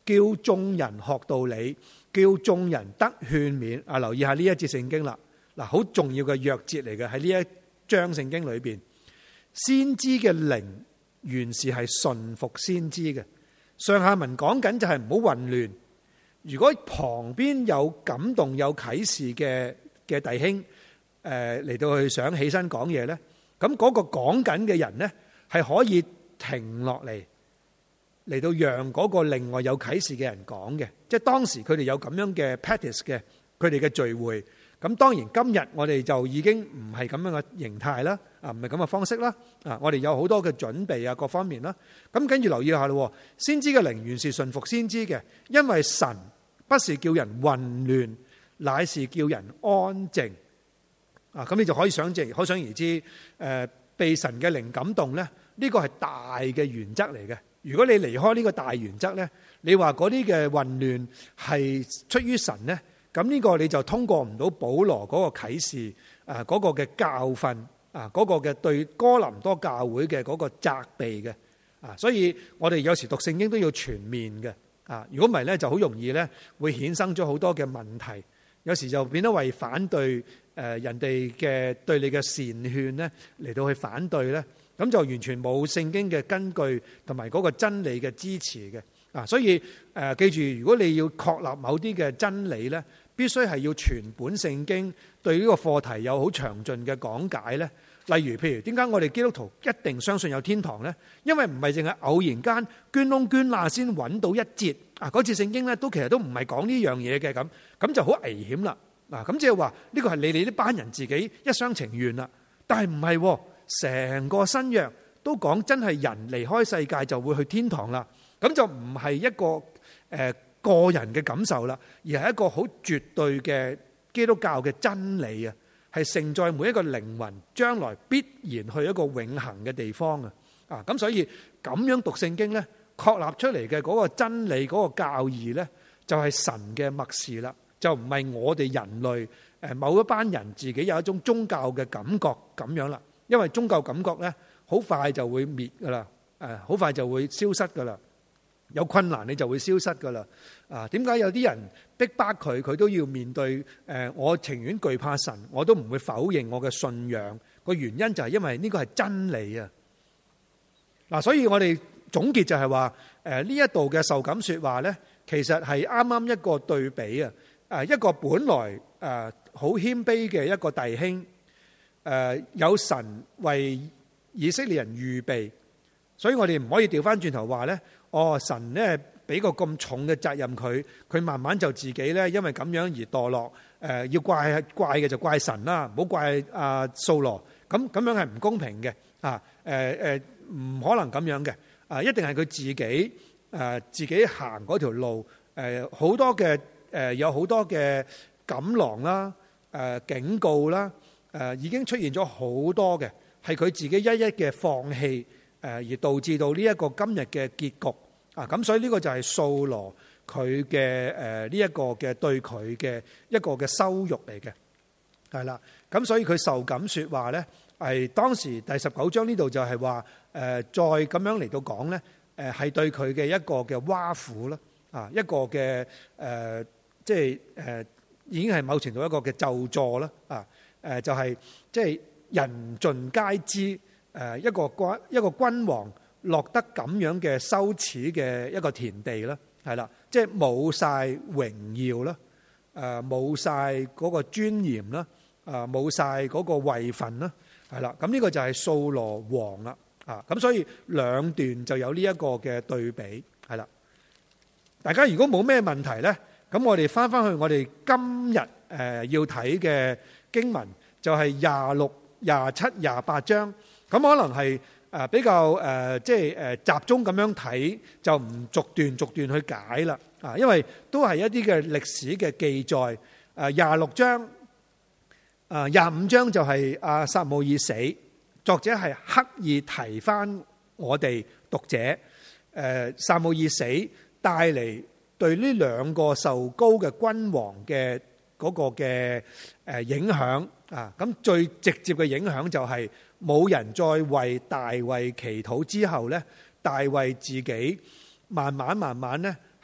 叫眾人學道理，叫眾人得勸勉。啊，留意下呢一節聖經啦，嗱，好重要嘅鑰節嚟嘅喺呢一章聖經裏邊。先知嘅靈原是係順服先知嘅。上下文講緊就係唔好混亂。如果旁邊有感動有啟示嘅嘅弟兄，誒嚟到去想起身講嘢咧，咁嗰個講緊嘅人咧係可以停落嚟，嚟到讓嗰個另外有啟示嘅人講嘅。即係當時佢哋有咁樣嘅 practice 嘅，佢哋嘅聚會。咁當然今日我哋就已經唔係咁樣嘅形態啦，啊唔係咁嘅方式啦，啊我哋有好多嘅準備啊各方面啦。咁跟住留意下咯，先知嘅靈原是順服先知嘅，因為神不是叫人混亂，乃是叫人安靜。啊咁你就可以想象，可想而知，誒被神嘅靈感動咧，呢個係大嘅原則嚟嘅。如果你離開呢個大原則咧，你話嗰啲嘅混亂係出於神咧？咁呢個你就通過唔到保羅嗰個啟示，誒嗰個嘅教訓，啊嗰個嘅對哥林多教會嘅嗰個責備嘅，啊所以我哋有時讀聖經都要全面嘅，啊如果唔係咧就好容易咧會衍生咗好多嘅問題，有時就變得為反對誒人哋嘅對你嘅善勸咧嚟到去反對咧，咁就完全冇聖經嘅根據同埋嗰個真理嘅支持嘅，啊所以誒記住，如果你要確立某啲嘅真理咧，必須係要全本聖經對呢個課題有好詳盡嘅講解咧。例如，譬如點解我哋基督徒一定相信有天堂咧？因為唔係淨係偶然間捐窿捐罅先揾到一節啊！嗰節聖經咧都其實都唔係講呢樣嘢嘅，咁咁就好危險啦。嗱，咁即係話呢個係你哋呢班人自己一廂情願啦。但係唔係，成個新約都講真係人離開世界就會去天堂啦。咁就唔係一個誒。呃個人嘅感受啦，而係一個好絕對嘅基督教嘅真理啊，係承載每一個靈魂將來必然去一個永恆嘅地方啊！啊，咁所以咁樣讀聖經咧，確立出嚟嘅嗰個真理、嗰個教義咧，就係神嘅默示啦，就唔係我哋人類誒某一班人自己有一種宗教嘅感覺咁樣啦。因為宗教感覺咧，好快就會滅噶啦，誒，好快就會消失噶啦。有困難你就會消失噶啦，啊？點解有啲人逼迫佢，佢都要面對？誒，我情願懼怕神，我都唔會否認我嘅信仰。個原因就係因為呢個係真理啊！嗱，所以我哋總結就係話，誒呢一度嘅受感說話咧，其實係啱啱一個對比啊！誒，一個本來誒好謙卑嘅一個弟兄，誒有神為以色列人預備，所以我哋唔可以調翻轉頭話咧。哦，神咧俾個咁重嘅責任佢，佢慢慢就自己咧，因為咁樣而墮落。誒，要怪怪嘅就怪神啦，唔好怪阿掃羅。咁咁樣係唔公平嘅。啊，誒誒，唔可能咁樣嘅。啊，一定係佢自己誒自己行嗰條路。誒，好多嘅誒，有好多嘅錦囊啦，誒警告啦，誒已經出現咗好多嘅，係佢自己一一嘅放棄。誒而導致到呢一個今日嘅結局啊！咁所以呢個就係掃羅佢嘅誒呢一個嘅對佢嘅一個嘅羞辱嚟嘅，係啦。咁所以佢受感說話咧，係當時第十九章呢度就係話誒再咁樣嚟到講咧，誒係對佢嘅一個嘅挖苦啦，啊一個嘅誒即係誒已經係某程度一個嘅咒詛啦，啊誒就係即係人盡皆知。誒一個君一個君王落得咁樣嘅羞恥嘅一個田地啦，係啦，即係冇晒榮耀啦，誒冇晒嗰個尊嚴啦，誒冇晒嗰個位份啦，係啦，咁呢個就係掃羅王啦，啊咁所以兩段就有呢一個嘅對比，係啦。大家如果冇咩問題咧，咁我哋翻翻去我哋今日誒要睇嘅經文就係廿六、廿七、廿八章。咁可能係誒比較誒即係誒集中咁樣睇，就唔逐段逐段去解啦啊！因為都係一啲嘅歷史嘅記載。誒廿六章，誒廿五章就係阿撒母耳死，作者係刻意提翻我哋讀者誒撒母耳死帶嚟對呢兩個受膏嘅君王嘅嗰個嘅誒影響啊！咁最直接嘅影響就係。冇人再為大衛祈禱之後咧，大衛自己慢慢慢慢咧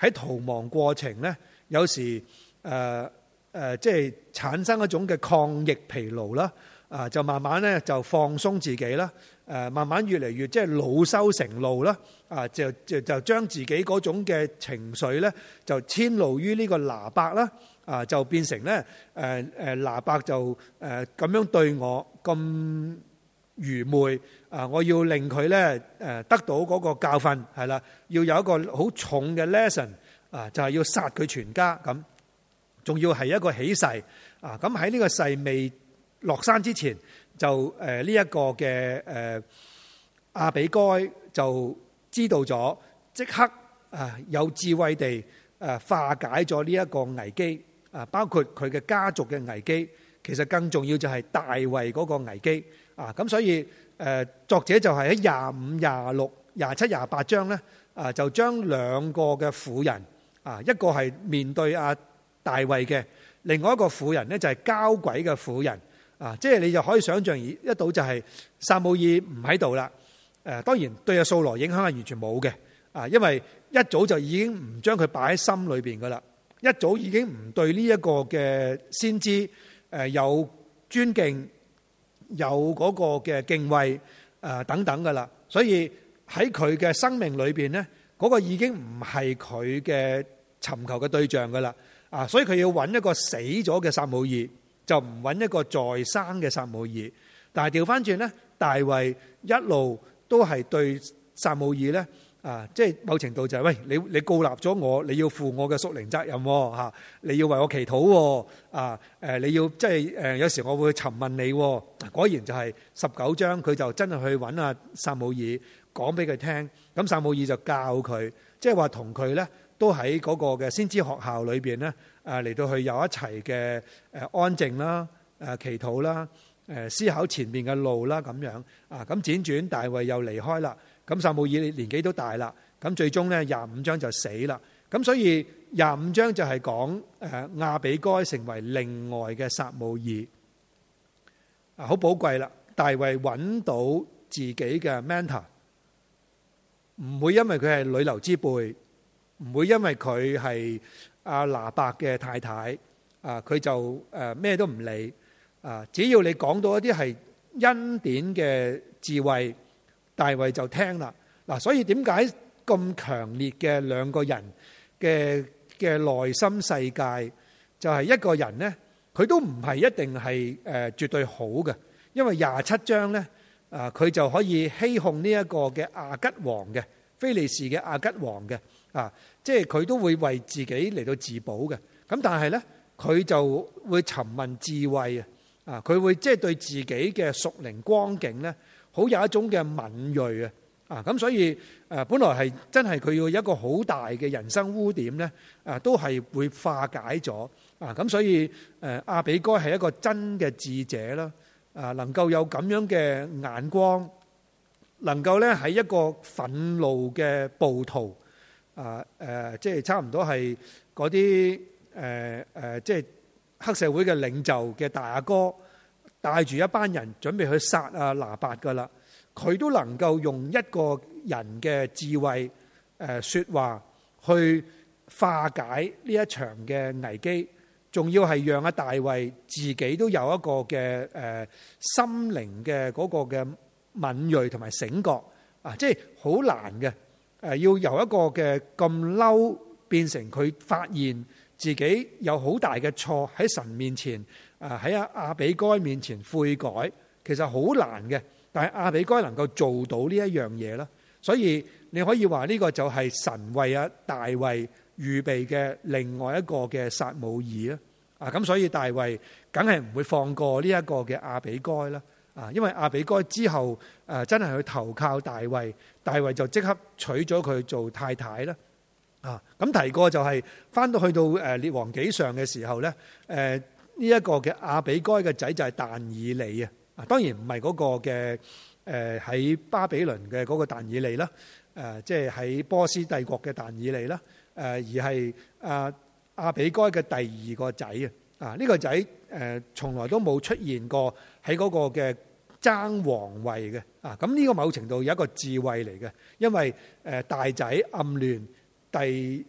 喺逃亡過程咧，有時誒誒，即係產生一種嘅抗疫疲勞啦，啊，就慢慢咧就放鬆自己啦，誒，慢慢越嚟越即係惱羞成怒啦，啊，就就就將自己嗰種嘅情緒咧就遷怒於呢個拿伯啦，啊，就變成咧誒誒拿伯就誒咁樣對我咁愚昧啊！我要令佢咧誒得到嗰個教訓係啦，要有一個好重嘅 lesson 啊，就係要殺佢全家咁，仲要係一個起誓啊！咁喺呢個誓未落山之前，就誒呢一個嘅誒亞比該就知道咗，即刻啊有智慧地誒化解咗呢一個危機啊，包括佢嘅家族嘅危機，其實更重要就係大衛嗰個危機。啊，咁所以誒作者就係喺廿五、廿六、廿七、廿八章咧，啊就將兩個嘅婦人，啊一個係面對阿大衛嘅，另外一個婦人咧就係交鬼嘅婦人，啊即係你就可以想象一到就係撒母耳唔喺度啦，誒當然對阿掃羅影響係完全冇嘅，啊因為一早就已經唔將佢擺喺心裏邊噶啦，一早已經唔對呢一個嘅先知誒有尊敬。有嗰個嘅敬畏誒等等噶啦，所以喺佢嘅生命裏邊咧，嗰個已經唔係佢嘅尋求嘅對象噶啦，啊，所以佢要揾一個死咗嘅撒母耳，就唔揾一個在生嘅撒母耳。但係調翻轉咧，大衛一路都係對撒母耳咧。啊，即係某程度就係、是、喂，你你膏立咗我，你要負我嘅屬靈責任喎，嚇，你要為我祈禱喎，啊，誒，你要即係誒，有時我會詢問你，果然就係十九章，佢就真係去揾阿撒母耳講俾佢聽，咁撒母耳就教佢，即係話同佢咧都喺嗰個嘅先知學校裏邊咧，誒嚟到去有一齊嘅誒安靜啦，誒祈禱啦，誒思考前面嘅路啦咁樣，啊，咁輾轉大衛又離開啦。咁撒母耳年紀都大啦，咁最終咧廿五章就死啦。咁所以廿五章就係講誒亞比該成為另外嘅撒母耳，啊好寶貴啦！大衛揾到自己嘅 mentor， 唔會因為佢係女流之輩，唔會因為佢係阿拿伯嘅太太，啊佢就誒咩都唔理，啊只要你講到一啲係恩典嘅智慧。大衛就聽啦，嗱，所以點解咁強烈嘅兩個人嘅嘅內心世界，就係一個人呢，佢都唔係一定係誒絕對好嘅，因為廿七章呢，啊佢就可以欺哄呢一個嘅亞吉王嘅非利士嘅亞吉王嘅，啊，即係佢都會為自己嚟到自保嘅，咁但係呢，佢就會詢問智慧啊，啊佢會即係對自己嘅屬靈光景呢。好有一種嘅敏銳啊！啊咁，所以誒，本來係真係佢要一個好大嘅人生污點咧，啊都係會化解咗啊！咁所以誒，亞比該係一個真嘅智者啦，啊能夠有咁樣嘅眼光，能夠咧喺一個憤怒嘅暴徒啊誒，即係差唔多係嗰啲誒誒，即係黑社會嘅領袖嘅大阿哥。帶住一班人準備去殺啊拿伯噶啦，佢都能夠用一個人嘅智慧誒說話去化解呢一場嘅危機，仲要係讓阿大衛自己都有一個嘅誒心靈嘅嗰個嘅敏銳同埋醒覺啊，即係好難嘅誒，要由一個嘅咁嬲變成佢發現自己有好大嘅錯喺神面前。啊！喺阿亞比該面前悔改，其實好難嘅。但係亞比該能夠做到呢一樣嘢啦，所以你可以話呢個就係神為阿大衛預備嘅另外一個嘅撒母耳啦。啊，咁所以大衛梗係唔會放過呢一個嘅亞比該啦。啊，因為亞比該之後誒真係去投靠大衛，大衛就即刻娶咗佢做太太啦。啊，咁提過就係翻到去到誒列王紀上嘅時候咧，誒。呢一個嘅亞比該嘅仔就係但以理啊，啊當然唔係嗰個嘅誒喺巴比倫嘅嗰個但以理啦，誒即係喺波斯帝國嘅但以理啦，誒而係啊亞比該嘅第二個仔啊，啊呢個仔誒從來都冇出現過喺嗰個嘅爭皇位嘅，啊咁呢個某程度有一個智慧嚟嘅，因為誒大仔暗戀第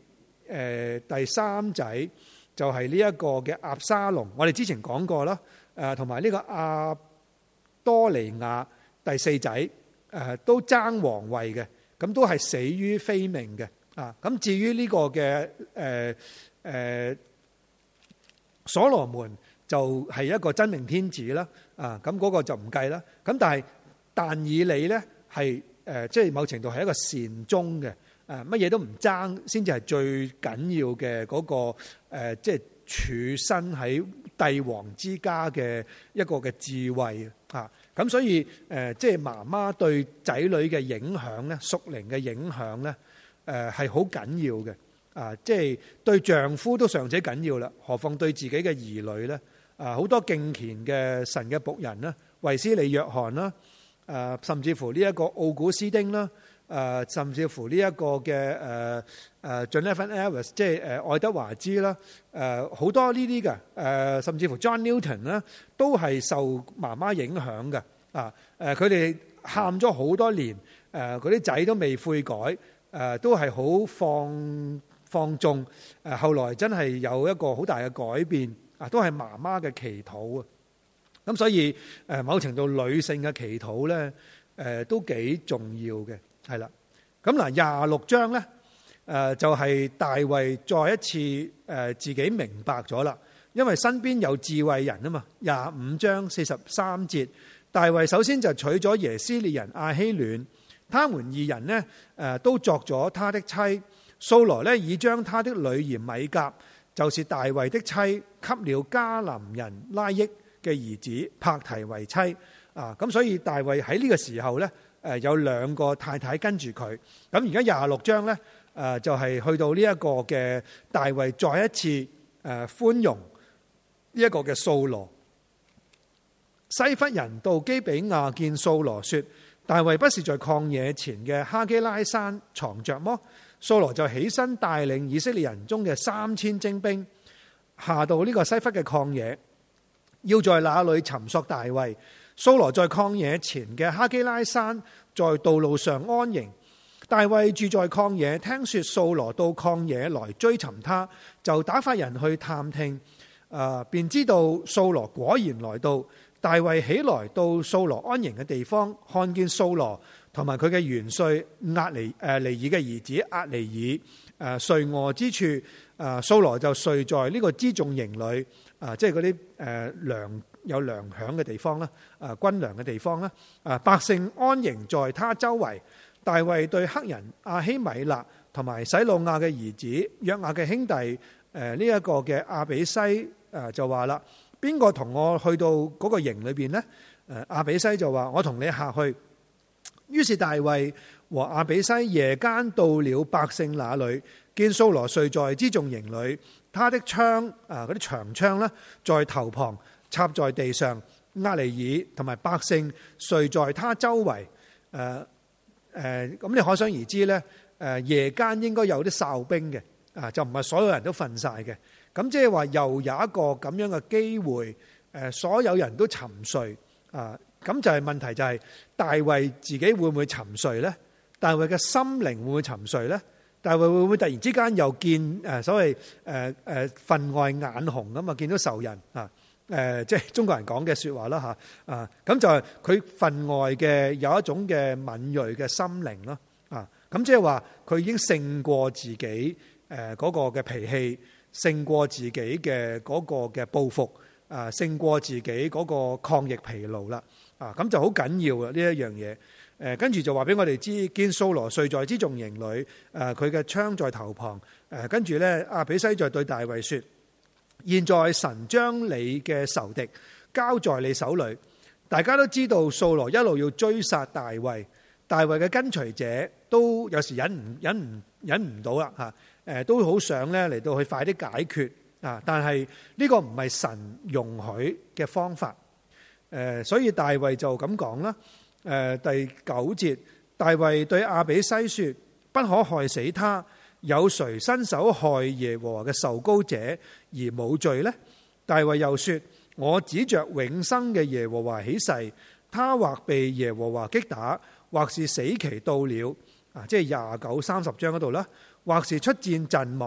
誒第三仔就係呢一個嘅押沙龍，我哋之前講過啦。誒同埋呢個亞多尼亞第四仔誒都爭皇位嘅，咁都係死於非命嘅啊。咁至於呢個嘅誒誒所羅門就係一個真命天子啦啊，咁嗰個就唔計啦。咁但係但以理咧係誒即係某程度係一個善終嘅。誒乜嘢都唔爭，先至係最緊要嘅嗰個誒，即係處身喺帝王之家嘅一個嘅智慧啊！咁所以誒，即係媽媽對仔女嘅影響咧，屬靈嘅影響咧，誒係好緊要嘅啊！即係對丈夫都尚且緊要啦，何況對自己嘅兒女咧？啊，好多敬虔嘅神嘅僕人啦，衛斯理約翰啦，誒甚至乎呢一個奧古斯丁啦。誒，甚至乎呢一個嘅誒誒 Jonathan Edwards，即係誒愛德華茲啦，誒好多呢啲嘅誒，甚至乎 John Newton 啦，都係受媽媽影響嘅啊！誒，佢哋喊咗好多年，誒嗰啲仔都未悔改，誒都係好放放縱，誒後來真係有一個好大嘅改變啊！都係媽媽嘅祈禱啊！咁所以誒某程度女性嘅祈禱咧，誒都幾重要嘅。係啦，咁嗱廿六章咧，誒就係大衛再一次誒自己明白咗啦，因為身邊有智慧人啊嘛。廿五章四十三節，大衛首先就娶咗耶斯列人亞希暖，他們二人呢誒都作咗他的妻。掃羅呢已將他的女兒米甲，就是大衛的妻，給了迦南人拉益嘅兒子柏提為妻。啊，咁所以大衛喺呢個時候咧。誒有兩個太太跟住佢，咁而家廿六章咧，誒就係去到呢一個嘅大衛再一次誒寬容呢一個嘅掃羅。西弗人到基比亞見掃羅說：大衛不是在曠野前嘅哈基拉山藏着麼？掃羅就起身帶領以色列人中嘅三千精兵下到呢個西弗嘅曠野，要在那裡尋索大衛。掃羅在曠野前嘅哈基拉山，在道路上安營。大衛住在曠野，聽說掃羅到曠野來追尋他，就打發人去探聽，呃、便知道掃羅果然來到。大衛起來到掃羅安營嘅地方，看見掃羅同埋佢嘅元帥押尼誒尼珥嘅兒子押尼珥誒睡臥之處，誒、呃、掃羅就睡在呢個輜重營裏，啊、呃、即係嗰啲誒糧。有糧餉嘅地方啦，啊軍糧嘅地方啦，啊百姓安營在他周圍。大衛對黑人亞希米勒同埋洗魯亞嘅兒子約亞嘅兄弟，誒呢一個嘅亞比篩誒就話啦：邊個同我去到嗰個營裏邊呢？誒亞比篩就話：我同你下去。於是大衛和亞比篩夜間到了百姓那裏，見掃羅睡在輜重營裏，他的槍啊嗰啲長槍咧在頭旁。插在地上，押尼珥同埋百姓睡在他周圍。誒、呃、誒，咁、呃、你可想而知咧。誒、呃、夜間應該有啲哨兵嘅，啊就唔係所有人都瞓晒嘅。咁即係話又有一個咁樣嘅機會，誒、呃、所有人都沉睡。啊，咁就係問題就係、是、大衛自己會唔會沉睡咧？大衛嘅心靈會唔會沉睡咧？大衛會唔會突然之間又見誒所謂誒誒分外眼紅咁啊？見到仇人啊？誒、呃，即係中國人講嘅說話啦吓，啊，咁就係佢分外嘅有一種嘅敏銳嘅心靈咯，啊，咁即係話佢已經勝過自己誒嗰個嘅脾氣，勝過自己嘅嗰個嘅報復，啊，勝過自己嗰個抗疫疲勞啦，啊，咁就好緊要啊呢一樣嘢，誒，跟住就話俾我哋知，見掃羅睡在輜重營裏，誒，佢嘅槍在頭旁，誒，跟住咧亞比篩就對大衛說。現在神將你嘅仇敵交在你手裏，大家都知道掃羅一路要追殺大衛，大衛嘅跟隨者都有時忍唔忍唔忍唔到啦吓，誒都好想咧嚟到去快啲解決啊，但係呢個唔係神容許嘅方法，誒所以大衛就咁講啦，誒第九節，大衛對亞比篩說：不可害死他。有誰伸手害耶和華嘅受膏者而冇罪呢？大衛又說：我指着永生嘅耶和華起誓，他或被耶和華擊打，或是死期到了，啊，即係廿九三十章嗰度啦，或是出戰陣亡，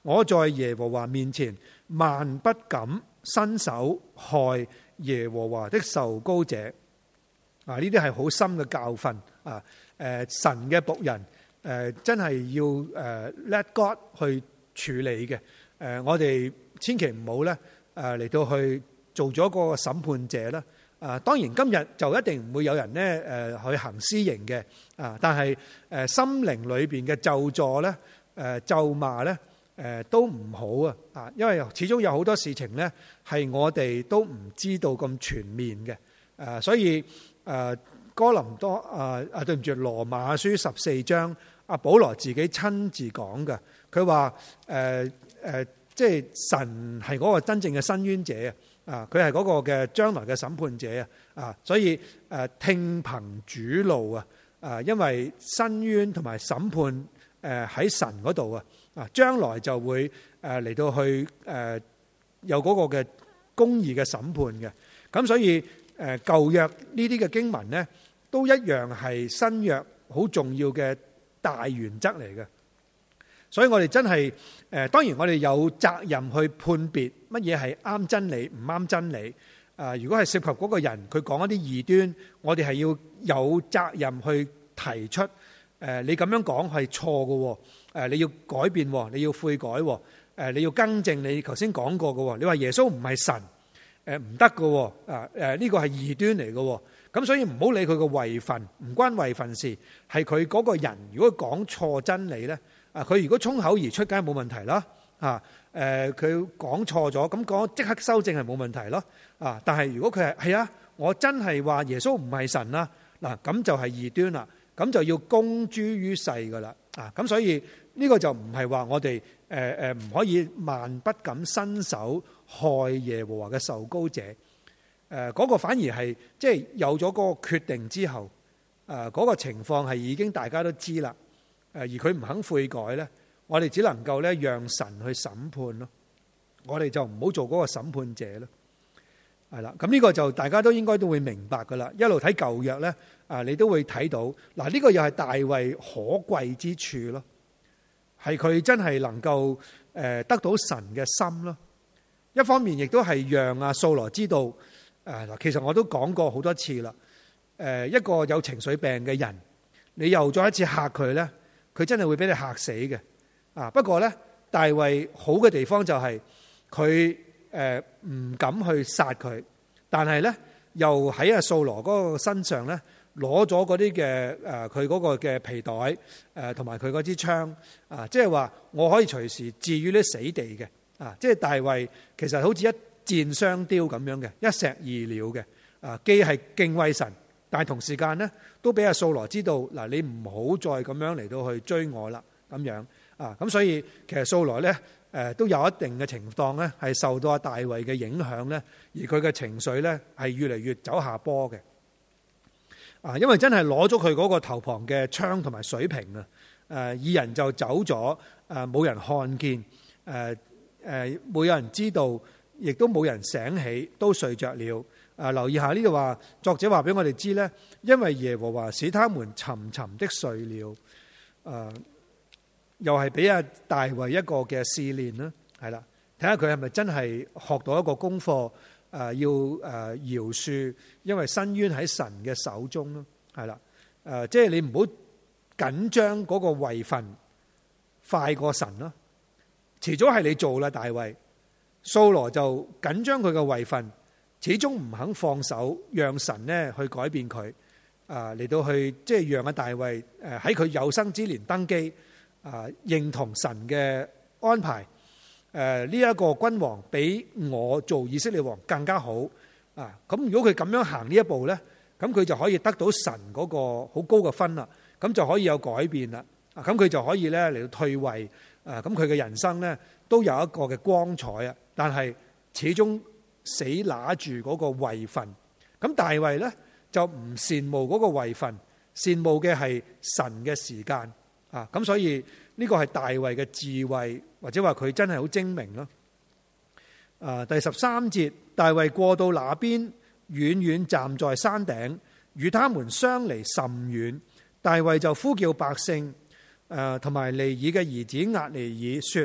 我在耶和華面前萬不敢伸手害耶和華的受膏者。啊，呢啲係好深嘅教訓啊！誒，神嘅僕人誒，真係要誒 let God 去處理嘅。誒，我哋千祈唔好咧誒嚟到去做咗個審判者啦。啊，當然今日就一定唔會有人咧誒去行私刑嘅。啊，但係誒心靈裏邊嘅咒詛咧、誒咒罵咧誒都唔好啊！啊，因為始終有好多事情咧係我哋都唔知道咁全面嘅。誒，所以誒哥林多啊啊，對唔住，羅馬書十四章，阿保羅自己親自講嘅，佢話誒誒，即係神係嗰個真正嘅申冤者啊，佢係嗰個嘅將來嘅審判者啊，啊，所以誒聽憑主怒啊，啊，因為申冤同埋審判誒喺神嗰度啊，啊，將來就會誒嚟到去誒有嗰個嘅公義嘅審判嘅，咁所以誒舊約呢啲嘅經文咧，都一樣係新約好重要嘅大原則嚟嘅。所以我哋真係誒，當然我哋有責任去判別乜嘢係啱真理，唔啱真理。啊，如果係涉及嗰個人佢講一啲異端，我哋係要有責任去提出誒，你咁樣講係錯嘅，誒你要改變，你要悔改，誒你要更正你頭先講過嘅。你話耶穌唔係神，誒唔得嘅，啊誒呢個係異端嚟嘅。咁所以唔好理佢個位份，唔關位份事，係佢嗰個人如果講錯真理咧。啊！佢如果衝口而出，梗係冇問題啦。啊，誒，佢講錯咗，咁講即刻修正係冇問題咯。啊，但係如果佢係係啊，我真係話耶穌唔係神啦，嗱，咁就係異端啦，咁就要公諸於世噶啦。啊，咁所以呢個就唔係話我哋誒誒唔可以萬不敢伸手害耶和華嘅受膏者。誒，嗰個反而係即係有咗嗰個決定之後，誒嗰個情況係已經大家都知啦。誒而佢唔肯悔改咧，我哋只能夠咧讓神去審判咯。我哋就唔好做嗰個審判者咯。係啦，咁呢個就大家都應該都會明白噶啦。一路睇舊約咧，啊你都會睇到嗱，呢個又係大衛可貴之處咯，係佢真係能夠誒得到神嘅心咯。一方面亦都係讓阿掃羅知道誒嗱，其實我都講過好多次啦。誒一個有情緒病嘅人，你又再一次嚇佢咧。佢真係會俾你嚇死嘅，啊！不過咧，大衛好嘅地方就係佢誒唔敢去殺佢，但係咧又喺阿掃羅嗰個身上咧攞咗嗰啲嘅誒佢嗰個嘅皮袋誒同埋佢嗰支槍啊，即係話我可以隨時置於呢死地嘅啊！即係大衛其實好似一箭雙雕咁樣嘅，一石二鳥嘅啊，既係敬畏神。但係同時間咧，都俾阿掃羅知道嗱，你唔好再咁樣嚟到去追我啦，咁樣啊，咁所以其實掃羅咧誒都有一定嘅情況咧，係受到阿大衛嘅影響咧，而佢嘅情緒咧係越嚟越走下坡嘅啊，因為真係攞咗佢嗰個頭旁嘅槍同埋水瓶啊，誒二人就走咗，誒冇人看見，誒誒冇有人知道，亦都冇人醒起，都睡着了。啊！留意下呢度話，作者話俾我哋知咧，因為耶和華使他們沉沉的睡了。誒，又係俾阿大衛一個嘅試煉啦，係啦，睇下佢係咪真係學到一個功課？誒，要誒饒恕，因為申冤喺神嘅手中咯，係啦。誒，即係你唔好緊張嗰個位份快過神咯，遲早係你做啦，大衛。掃羅就緊張佢嘅位份。始終唔肯放手，讓神咧去改變佢，啊嚟到去即係讓阿大衛誒喺佢有生之年登基，啊認同神嘅安排，誒呢一個君王比我做以色列王更加好，啊咁如果佢咁樣行呢一步咧，咁佢就可以得到神嗰個好高嘅分啦，咁就可以有改變啦，啊咁佢就可以咧嚟到退位，啊咁佢嘅人生咧都有一個嘅光彩啊，但係始終。死拿住嗰個位份，咁大衛咧就唔羨慕嗰個位份，羨慕嘅係神嘅時間啊！咁所以呢個係大衛嘅智慧，或者話佢真係好精明咯。啊，第十三節，大衛過到那邊，遠遠站在山頂，與他們相離甚遠。大衛就呼叫百姓，誒同埋尼珥嘅兒子押尼珥說：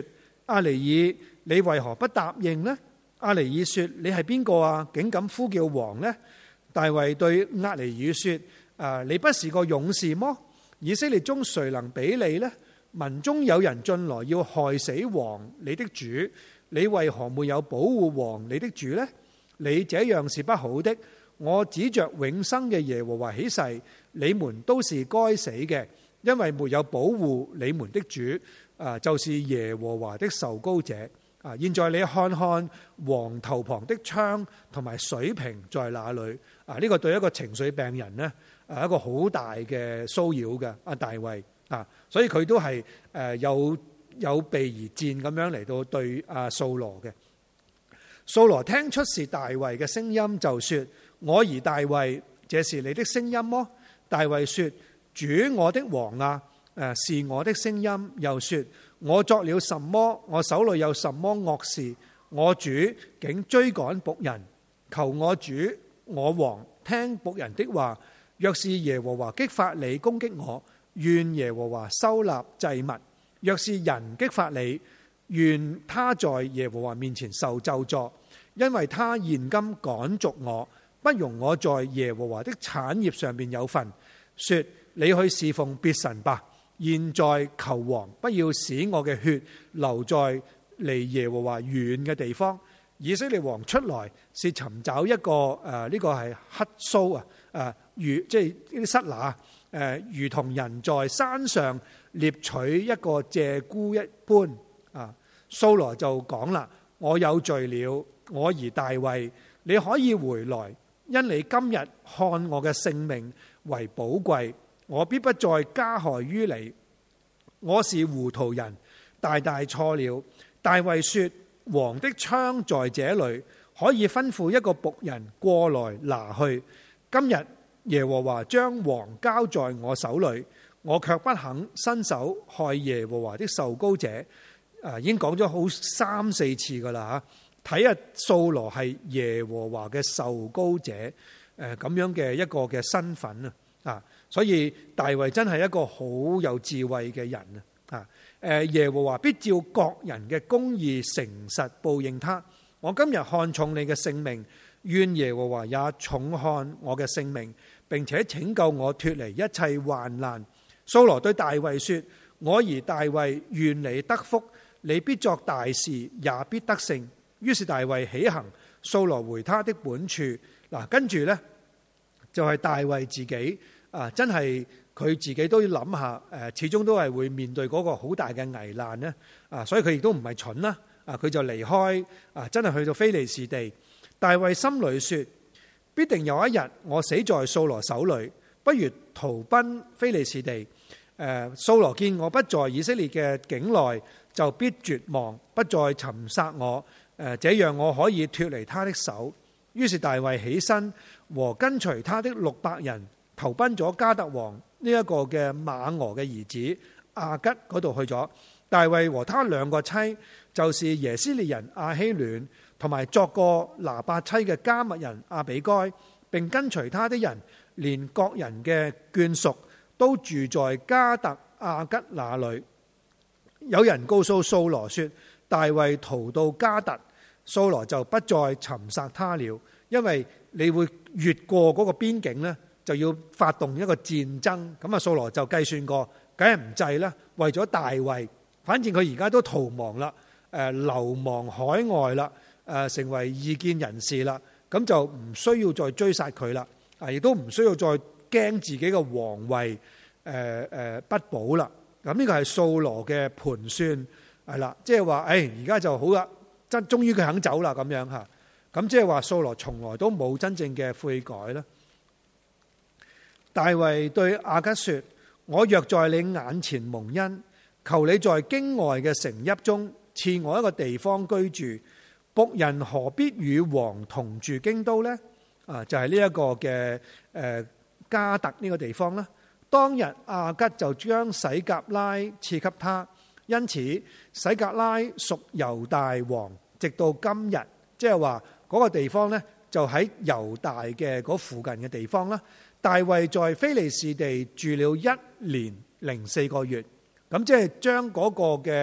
阿尼爾，你為何不答應呢？阿尼爾說：你係邊個啊？竟敢呼叫王呢？大衛對押尼珥說：啊，你不是個勇士麼？以色列中誰能比你呢？民中有人進來要害死王你的主，你為何沒有保護王你的主呢？你這樣是不好的。我指着永生嘅耶和華起誓，你們都是該死嘅，因為沒有保護你們的主，啊，就是耶和華的受膏者。啊！現在你看看王頭旁的槍同埋水瓶在哪裏？啊！呢、這個對一個情緒病人呢，啊，一個好大嘅騷擾嘅。阿大衛啊，所以佢都係誒有有備而戰咁樣嚟到對阿掃羅嘅。掃羅聽出是大衛嘅聲音，就說：我兒大衛，這是你的聲音麼？大衛說：主我的王啊，誒是我的聲音。又說：我作了什麼？我手裏有什麼惡事？我主竟追趕僕人，求我主我王聽僕人的話。若是耶和華激發你攻擊我，願耶和華收納祭物；若是人激發你，願他在耶和華面前受咒詛，因為他現今趕逐我，不容我在耶和華的產業上面有份。說：你去侍奉別神吧。現在求王不要使我嘅血流在離耶和華遠嘅地方。以色列王出來是尋找一個誒，呢、呃這個係乞鬚啊，誒如即係呢啲虱乸誒，如同人在山上獵取一個鷓鴣一般啊。掃羅就講啦：我有罪了，我兒大衛，你可以回來，因你今日看我嘅性命為寶貴。我必不再加害於你，我是糊塗人，大大錯了。大衛說：王的槍在這裏，可以吩咐一個僕人過來拿去。今日耶和華將王交在我手裏，我卻不肯伸手害耶和華的受膏者。啊，已經講咗好三四次噶啦吓，睇下掃羅係耶和華嘅受膏者，誒咁樣嘅一個嘅身份啊。啊，所以大衛真係一個好有智慧嘅人啊！誒，耶和華必照各人嘅公義誠實報應他。我今日看重你嘅性命，願耶和華也重看我嘅性命，並且拯救我脫離一切患難。掃羅對大衛說：我兒大衛，願你得福，你必作大事，也必得勝。於是大衛起行，掃羅回他的本處。嗱，跟住呢，就係大衛自己。啊！真係佢自己都要諗下，誒，始終都係會面對嗰個好大嘅危難咧。啊，所以佢亦都唔係蠢啦。啊，佢就離開，啊，真係去到非利士地。大衛心裏說：必定有一日我死在掃羅手裏，不如逃奔非利士地。誒，掃羅見我不在以色列嘅境內，就必絕望，不再尋殺我。誒，這樣我可以脫離他的手。於是大衛起身和跟隨他的六百人，投奔咗迦特王呢一個嘅馬俄嘅兒子亞吉嗰度去咗。大衛和他兩個妻，就是耶斯列人亞希暖，同埋作過拿八妻嘅迦密人亞比該，並跟隨他的人，連各人嘅眷屬都住在迦特亞吉那裏。有人告訴掃羅說：大衛逃到迦特，掃羅就不再尋殺他了，因為你會越過嗰個邊境呢，就要發動一個戰爭。咁啊，掃羅就計算過，梗係唔制啦。為咗大衛，反正佢而家都逃亡啦，誒流亡海外啦，誒成為異見人士啦，咁就唔需要再追殺佢啦，啊，亦都唔需要再驚自己嘅皇位誒誒不保啦。咁呢個係掃羅嘅盤算係啦，即係話誒而家就好啦，真終於佢肯走啦咁樣嚇。咁即係話掃羅從來都冇真正嘅悔改啦。大衛對亞吉說：我若在你眼前蒙恩，求你在京外嘅城邑中賜我一個地方居住。僕人何必與王同住京都呢？啊，就係呢一個嘅誒迦特呢個地方啦。當日亞吉就將洗革拉賜給他，因此洗革拉屬猶大王，直到今日。即係話嗰個地方呢，就喺猶大嘅嗰附近嘅地方啦。大衛在非利士地住了一年零四個月，咁即係將嗰個嘅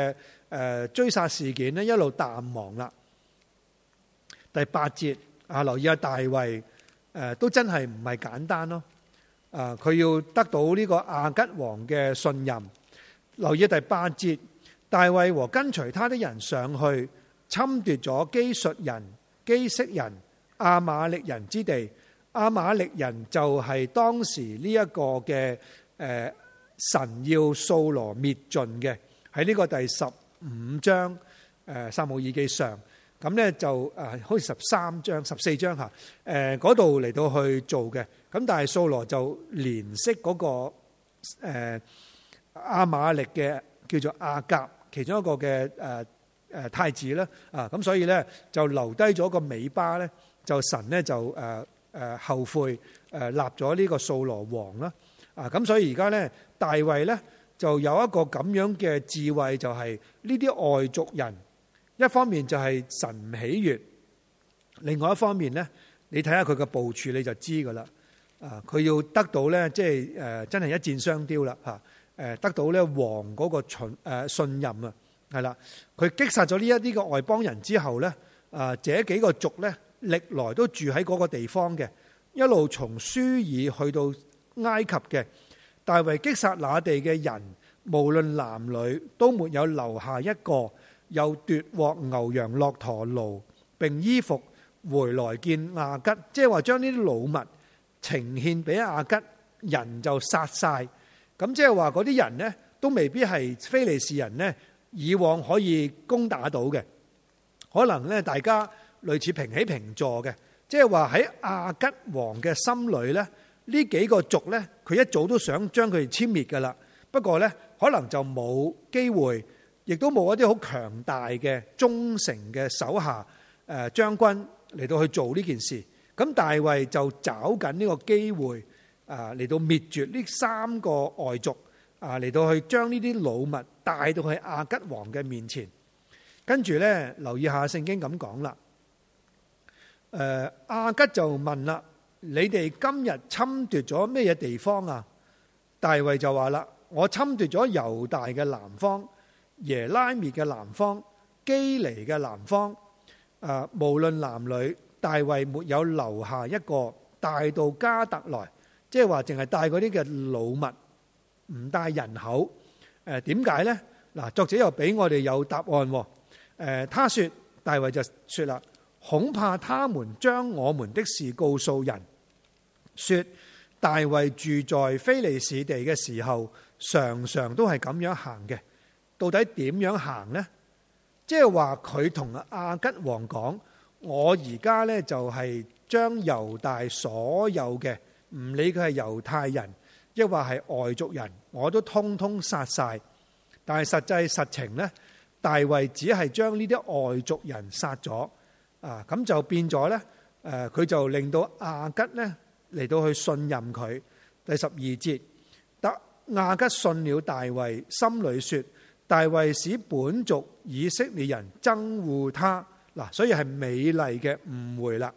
誒追殺事件咧一路淡忘啦。第八節啊，留意下大衛誒都真係唔係簡單咯。啊，佢要得到呢個亞吉王嘅信任。留意第八節，大衛和跟隨他的人上去侵奪咗基述人、基色人、亞瑪力人之地。亞瑪力人就係當時呢一個嘅誒神要掃羅滅盡嘅，喺呢個第十五章誒撒母耳記上，咁咧就誒好似十三章、十四章嚇誒嗰度嚟到去做嘅。咁但係掃羅就憐惜嗰個誒亞瑪力嘅叫做亞甲，其中一個嘅誒誒太子啦啊，咁所以咧就留低咗個尾巴咧，就神咧就誒誒後悔誒立咗呢個掃羅王啦啊，咁所以而家咧大衛咧就有一個咁樣嘅智慧，就係呢啲外族人一方面就係神唔喜悅，另外一方面咧你睇下佢嘅部署你就知噶啦啊，佢要得到咧即係誒真係一箭雙雕啦嚇。誒得到咧王嗰個信誒信任啊，係啦，佢擊殺咗呢一啲嘅外邦人之後咧，啊，這幾個族咧歷來都住喺嗰個地方嘅，一路從書珥去到埃及嘅。大衛擊殺那地嘅人，無論男女，都沒有留下一個，又奪獲牛羊駱駝驢並衣服回來見亞吉，即係話將呢啲老物呈獻俾亞吉，人就殺晒。咁即係話嗰啲人呢，都未必係非利士人呢，以往可以攻打到嘅，可能呢，大家類似平起平坐嘅，即係話喺亞吉王嘅心裏呢，呢幾個族呢，佢一早都想將佢哋殲滅噶啦，不過呢，可能就冇機會，亦都冇一啲好強大嘅忠誠嘅手下誒將軍嚟到去做呢件事，咁大衛就找緊呢個機會。啊！嚟到滅絕呢三個外族啊，嚟到去將呢啲老物帶到去亞吉王嘅面前，跟住咧留意下聖經咁講啦。誒，亞吉就問啦：你哋今日侵奪咗咩嘢地方啊？大衛就話啦：我侵奪咗猶大嘅南方、耶拉篾嘅南方、基尼嘅南方。啊，無論男女，大衛沒有留下一個，帶到加特來。即係話，淨係帶嗰啲嘅老物，唔帶人口。誒，點解呢？嗱，作者又俾我哋有答案。誒，他說，大衛就說啦，恐怕他們將我們的事告訴人，說大衛住在非利士地嘅時候，常常都係咁樣行嘅。到底點樣行呢？即係話佢同亞吉王講，我而家呢就係將猶大所有嘅。唔理佢係猶太人，抑或係外族人，我都通通殺晒。但係實際實情呢，大衛只係將呢啲外族人殺咗啊，咁就變咗呢，誒，佢就令到亞吉呢嚟到去信任佢。第十二節，得亞吉信了大衛，心裏說：大衛使本族以色列人憎惡他。嗱，所以係美麗嘅誤會啦。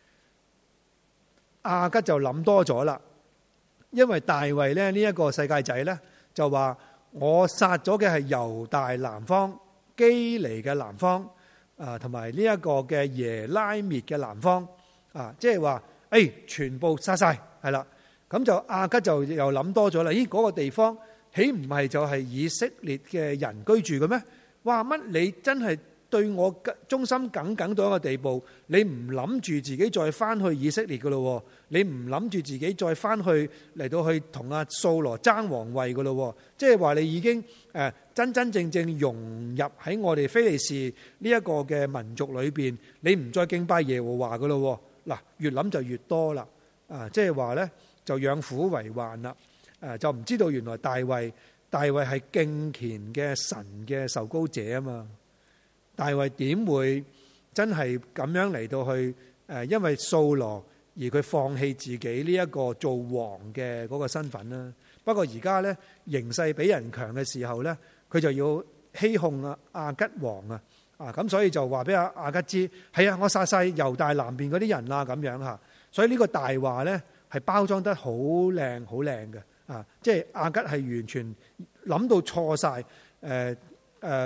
亞吉就諗多咗啦，因為大衛咧呢一個世界仔呢，就話我殺咗嘅係猶大南方、基尼嘅南方啊，同埋呢一個嘅耶拉篾嘅南方啊，即係話誒全部殺晒係啦。咁就亞吉就又諗多咗啦。咦，嗰個地方豈唔係就係以色列嘅人居住嘅咩？哇，乜你真係對我忠心耿耿到一個地步，你唔諗住自己再翻去以色列噶咯？你唔諗住自己再翻去嚟到去同阿掃羅爭皇位噶咯？即係話你已經誒真真正正融入喺我哋非利士呢一個嘅民族裏邊，你唔再敬拜耶和華噶咯？嗱，越諗就越多啦。啊，即係話咧就養虎為患啦。誒，就唔知道原來大衛大衛係敬虔嘅神嘅受膏者啊嘛。大衛點會真係咁樣嚟到去誒？因為掃羅而佢放棄自己呢一個做王嘅嗰個身份啦。不過而家呢，形勢比人強嘅時候呢，佢就要欺哄啊亞吉王啊啊！咁所以就話俾阿亞吉知係啊，我殺晒猶大南邊嗰啲人啦咁樣嚇。所以呢個大話呢係包裝得好靚好靚嘅啊！即係亞吉係完全諗到錯晒誒誒。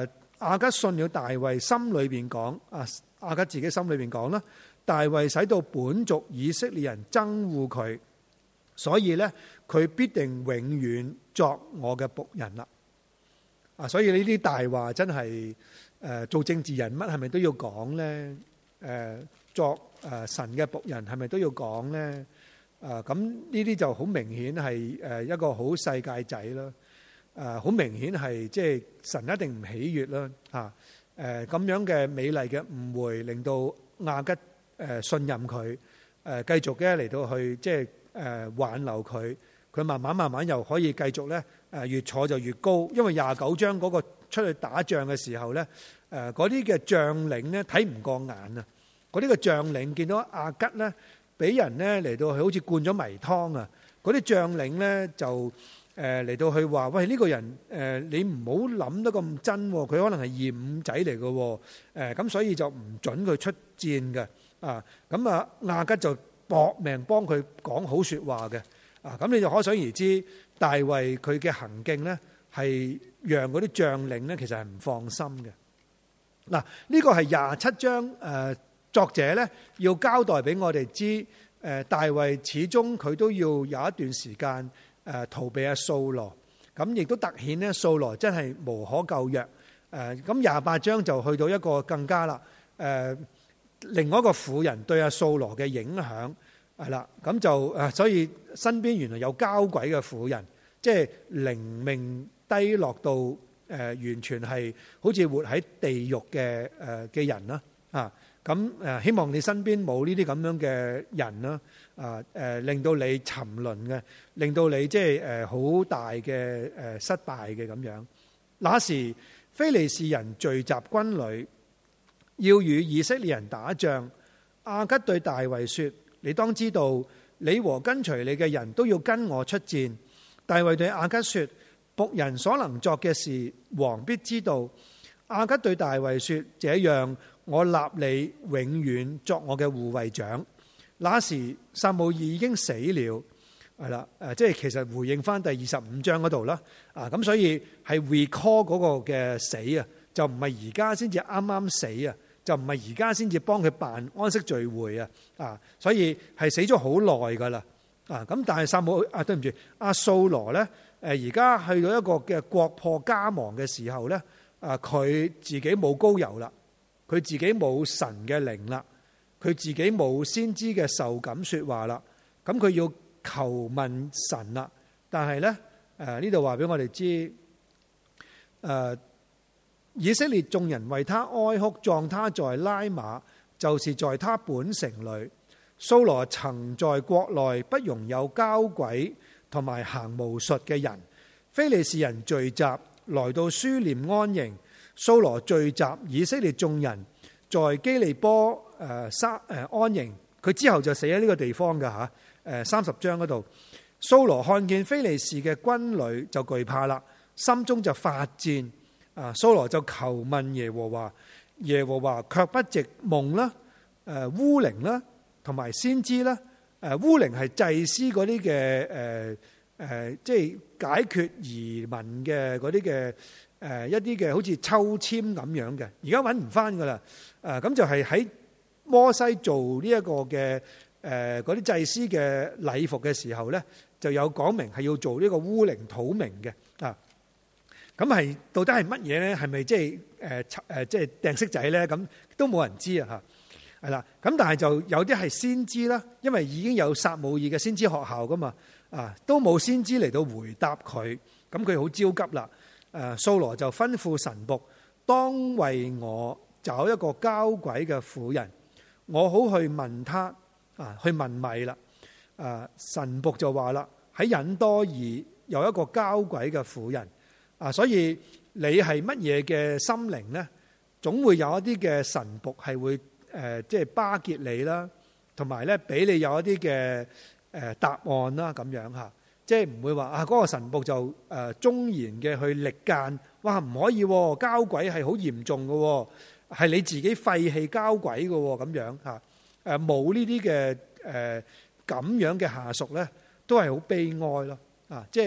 亞吉信了大衛，心裏邊講啊，亞吉自己心裏邊講啦，大衛使到本族以色列人憎惡佢，所以咧佢必定永遠作我嘅僕人啦。啊，所以呢啲大話真係誒做政治人物係咪都要講咧？誒作誒神嘅僕人係咪都要講咧？啊，咁呢啲就好明顯係誒一個好世界仔啦。誒好明顯係即係神一定唔喜悅啦。嚇誒咁樣嘅美麗嘅誤會，令到亞吉誒信任佢誒繼續嘅嚟到去即係誒挽留佢。佢慢慢慢慢又可以繼續咧誒越坐就越高，因為廿九章嗰個出去打仗嘅時候咧誒嗰啲嘅將領咧睇唔過眼啊！嗰啲嘅將領見到亞吉咧俾人咧嚟到去好似灌咗迷湯啊！嗰啲將領咧就誒嚟到去話：喂，呢個人誒你唔好諗得咁真，佢可能係二五仔嚟嘅誒，咁所以就唔準佢出戰嘅啊！咁啊亞吉就搏命幫佢講好説話嘅。啊，咁你就可想而知，大衛佢嘅行徑咧，係讓嗰啲將領咧，其實係唔放心嘅。嗱，呢個係廿七章誒作者咧要交代俾我哋知，誒大衛始終佢都要有一段時間誒逃避阿掃羅，咁亦都突顯咧掃羅真係無可救藥。誒咁廿八章就去到一個更加啦，誒另外一個婦人對阿掃羅嘅影響。係啦，咁就誒，所以身邊原來有交鬼嘅婦人，即係靈命低落到誒，完全係好似活喺地獄嘅誒嘅人啦啊！咁誒，希望你身邊冇呢啲咁樣嘅人啦啊誒，令到你沉淪嘅，令到你即係誒好大嘅誒失敗嘅咁樣。那時非利士人聚集軍旅，要與以色列人打仗。亞吉對大衛說：你當知道，你和跟隨你嘅人都要跟我出戰。大衛對亞吉說：僕人所能作嘅事，王必知道。亞吉對大衛說：這樣，我立你永遠作我嘅護衛長。那時撒母耳已經死了，係啦，誒，即係其實回應翻第二十五章嗰度啦。啊，咁所以係 recall 嗰個嘅死啊，就唔係而家先至啱啱死啊。就唔係而家先至幫佢辦安息聚會啊！啊，所以係死咗好耐噶啦！啊，咁但係撒母啊，對唔住，阿掃羅咧，誒而家去到一個嘅國破家亡嘅時候咧，啊，佢自己冇膏油啦，佢自己冇神嘅靈啦，佢自己冇先知嘅受感説話啦，咁佢要求問神啦。但係咧，誒呢度話俾我哋知，誒、啊。以色列眾人為他哀哭，葬他在拉馬，就是在他本城裏。掃羅曾在國內不容有交鬼同埋行巫術嘅人。非利士人聚集來到書念安營，掃羅聚集以色列眾人在基利波誒沙誒安營。佢之後就死喺呢個地方㗎吓，誒三十章嗰度。掃羅看見非利士嘅軍旅就懼怕啦，心中就發戰。啊，掃羅就求問耶和華，耶和華卻不藉夢啦、誒烏靈啦，同埋先知啦。誒烏靈係祭司嗰啲嘅誒誒，即係解決疑問嘅嗰啲嘅誒一啲嘅好似抽籤咁樣嘅。而家揾唔翻噶啦。誒咁就係喺摩西做呢一個嘅誒嗰啲祭司嘅禮服嘅時候咧，就有講明係要做呢個烏靈土明嘅啊。咁係到底係乜嘢咧？係咪即係誒誒即係掟骰仔咧？咁都冇人知啊嚇，係啦。咁但係就有啲係先知啦，因為已經有撒母耳嘅先知學校噶嘛，啊都冇先知嚟到回答佢，咁佢好焦急啦。誒掃羅就吩咐神僕，當為我找一個交鬼嘅婦人，我好去問他啊，去問米啦。誒神僕就話啦，喺隱多爾有一個交鬼嘅婦人。啊，所以你係乜嘢嘅心靈咧？總會有一啲嘅神僕係會誒，即係巴結你啦，同埋咧俾你有一啲嘅誒答案啦，咁樣嚇，即係唔會話啊嗰個神僕就誒忠言嘅去力諫，哇唔可以喎，交鬼係好嚴重嘅，係你自己廢棄交鬼嘅咁樣嚇，誒冇呢啲嘅誒咁樣嘅下屬咧，都係好悲哀咯，啊即係。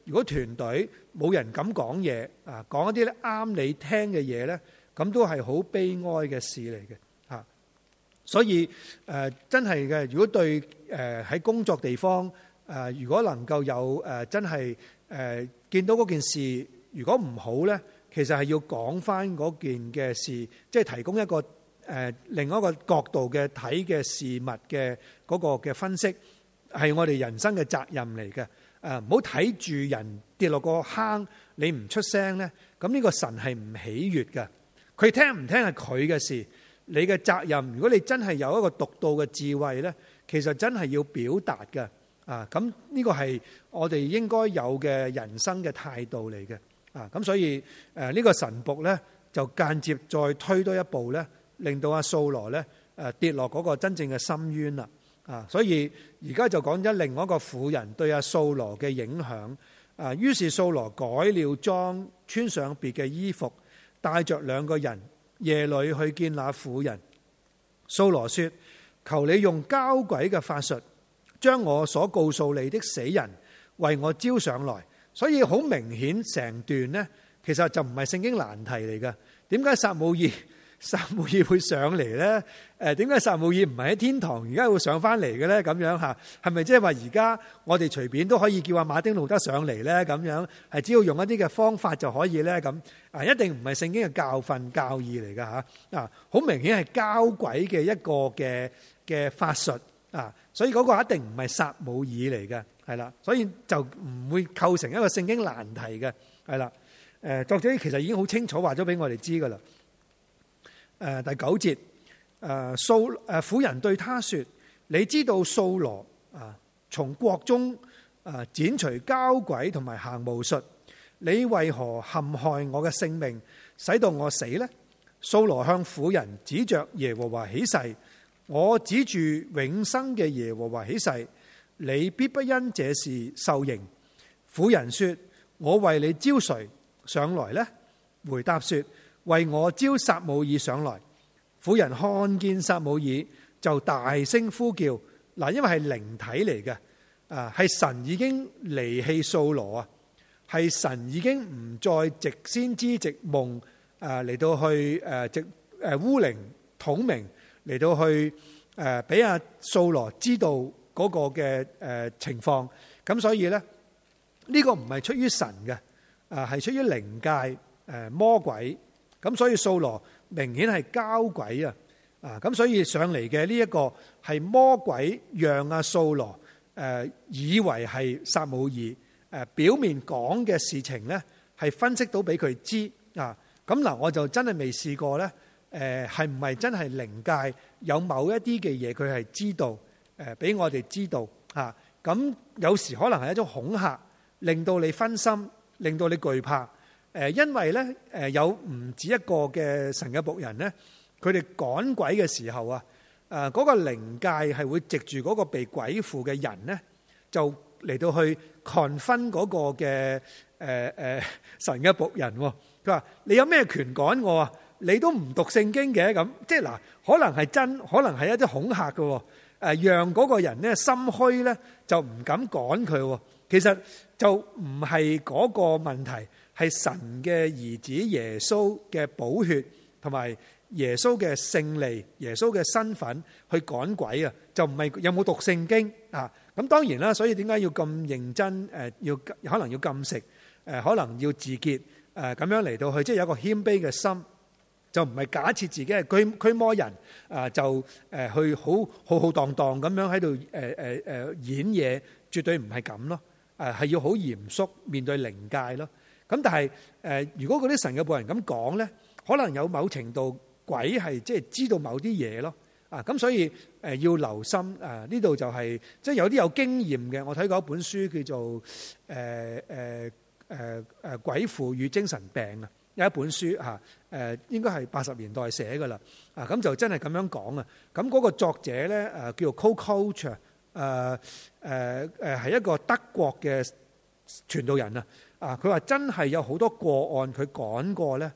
如果團隊冇人敢講嘢啊，講一啲咧啱你聽嘅嘢咧，咁都係好悲哀嘅事嚟嘅嚇。所以誒、呃、真係嘅，如果對誒喺、呃、工作地方誒、呃，如果能夠有誒、呃、真係誒、呃、見到嗰件事，如果唔好咧，其實係要講翻嗰件嘅事，即係提供一個誒、呃、另一個角度嘅睇嘅事物嘅嗰個嘅分析，係我哋人生嘅責任嚟嘅。誒唔好睇住人跌落個坑，你唔出聲咧，咁呢個神係唔喜悅嘅。佢聽唔聽係佢嘅事，你嘅責任。如果你真係有一個獨到嘅智慧咧，其實真係要表達嘅。啊，咁呢個係我哋應該有嘅人生嘅態度嚟嘅。啊，咁所以誒呢個神僕咧就間接再推多一步咧，令到阿掃羅咧誒跌落嗰個真正嘅深淵啦。啊，所以而家就講咗另外一個婦人對阿掃羅嘅影響。啊，於是掃羅改了裝，穿上別嘅衣服，帶着兩個人夜裏去見那婦人。掃羅說：求你用交鬼嘅法術，將我所告訴你的死人為我招上來。所以好明顯，成段呢其實就唔係聖經難題嚟嘅。點解撒母耳撒母耳會上嚟呢？誒，點解撒母耳唔係喺天堂，而家會上翻嚟嘅呢？咁樣嚇，係咪即係話而家我哋隨便都可以叫阿馬丁路德上嚟呢？咁樣係只要用一啲嘅方法就可以呢？咁啊，一定唔係聖經嘅教訓教義嚟㗎嚇。啊，好明顯係交鬼嘅一個嘅嘅法術啊，所以嗰個一定唔係撒母耳嚟嘅，係啦，所以就唔會構成一個聖經難題嘅，係啦。誒，作者其實已經好清楚話咗俾我哋知㗎啦。誒，第九節，誒掃誒婦人對他說：你知道掃羅啊，從國中啊剪除交鬼同埋行巫術，你為何陷害我嘅性命，使到我死呢？掃羅向婦人指着耶和華起誓：我指住永生嘅耶和華起誓，你必不因這事受刑。婦人說：我為你招誰上來呢？回答說：為我招撒母耳上來。婦人看見撒母耳就大聲呼叫。嗱，因為係靈體嚟嘅，啊，係神已經離棄掃羅啊，係神已經唔再藉先知藉夢啊嚟到去誒藉誒烏靈統明嚟到去誒俾阿掃羅知道嗰個嘅誒情況。咁所以咧呢個唔係出於神嘅，啊係出於靈界誒魔鬼。咁所以掃羅明顯係交鬼啊！啊，咁所以上嚟嘅呢一個係魔鬼，讓阿掃羅誒以為係撒母耳誒表面講嘅事情咧，係分析到俾佢知啊！咁嗱，我就真係未試過咧，誒係唔係真係靈界有某一啲嘅嘢佢係知道誒，俾我哋知道嚇。咁有時可能係一種恐嚇，令到你分心，令到你懼怕。誒，因為咧，誒有唔止一個嘅神嘅僕人咧，佢哋趕鬼嘅時候啊，誒嗰個靈界係會藉住嗰個被鬼附嘅人咧，就嚟到去 confront 嗰個嘅誒誒神嘅僕人。佢話：你有咩權趕我啊？你都唔讀聖經嘅。咁，即係嗱，可能係真，可能係一啲恐嚇嘅。誒，讓嗰個人咧心虛咧，就唔敢趕佢。其實就唔係嗰個問題。係神嘅兒子耶穌嘅寶血同埋耶穌嘅勝利、耶穌嘅身份去趕鬼啊！就唔係有冇讀聖經啊？咁當然啦，所以點解要咁認真？誒，要可能要禁食，誒，可能要自潔，誒，咁樣嚟到去，即係有一個謙卑嘅心，就唔係假設自己係驅驅魔人啊，就誒去好浩浩蕩蕩咁樣喺度誒誒誒演嘢，絕對唔係咁咯。誒，係要好嚴肅面對靈界咯。咁但係誒，如果嗰啲神嘅僕人咁講咧，可能有某程度鬼係即係知道某啲嘢咯。啊，咁所以誒要留心啊！呢度就係即係有啲有經驗嘅。我睇過一本書叫做誒誒誒誒鬼附與精神病啊，有一本書嚇誒，應該係八十年代寫㗎啦。啊，咁就真係咁樣講啊。咁嗰個作者咧誒叫做 Co-Coach 誒誒誒係一個德國嘅傳道人啊。啊！佢話真係有好多個案，佢趕過咧，誒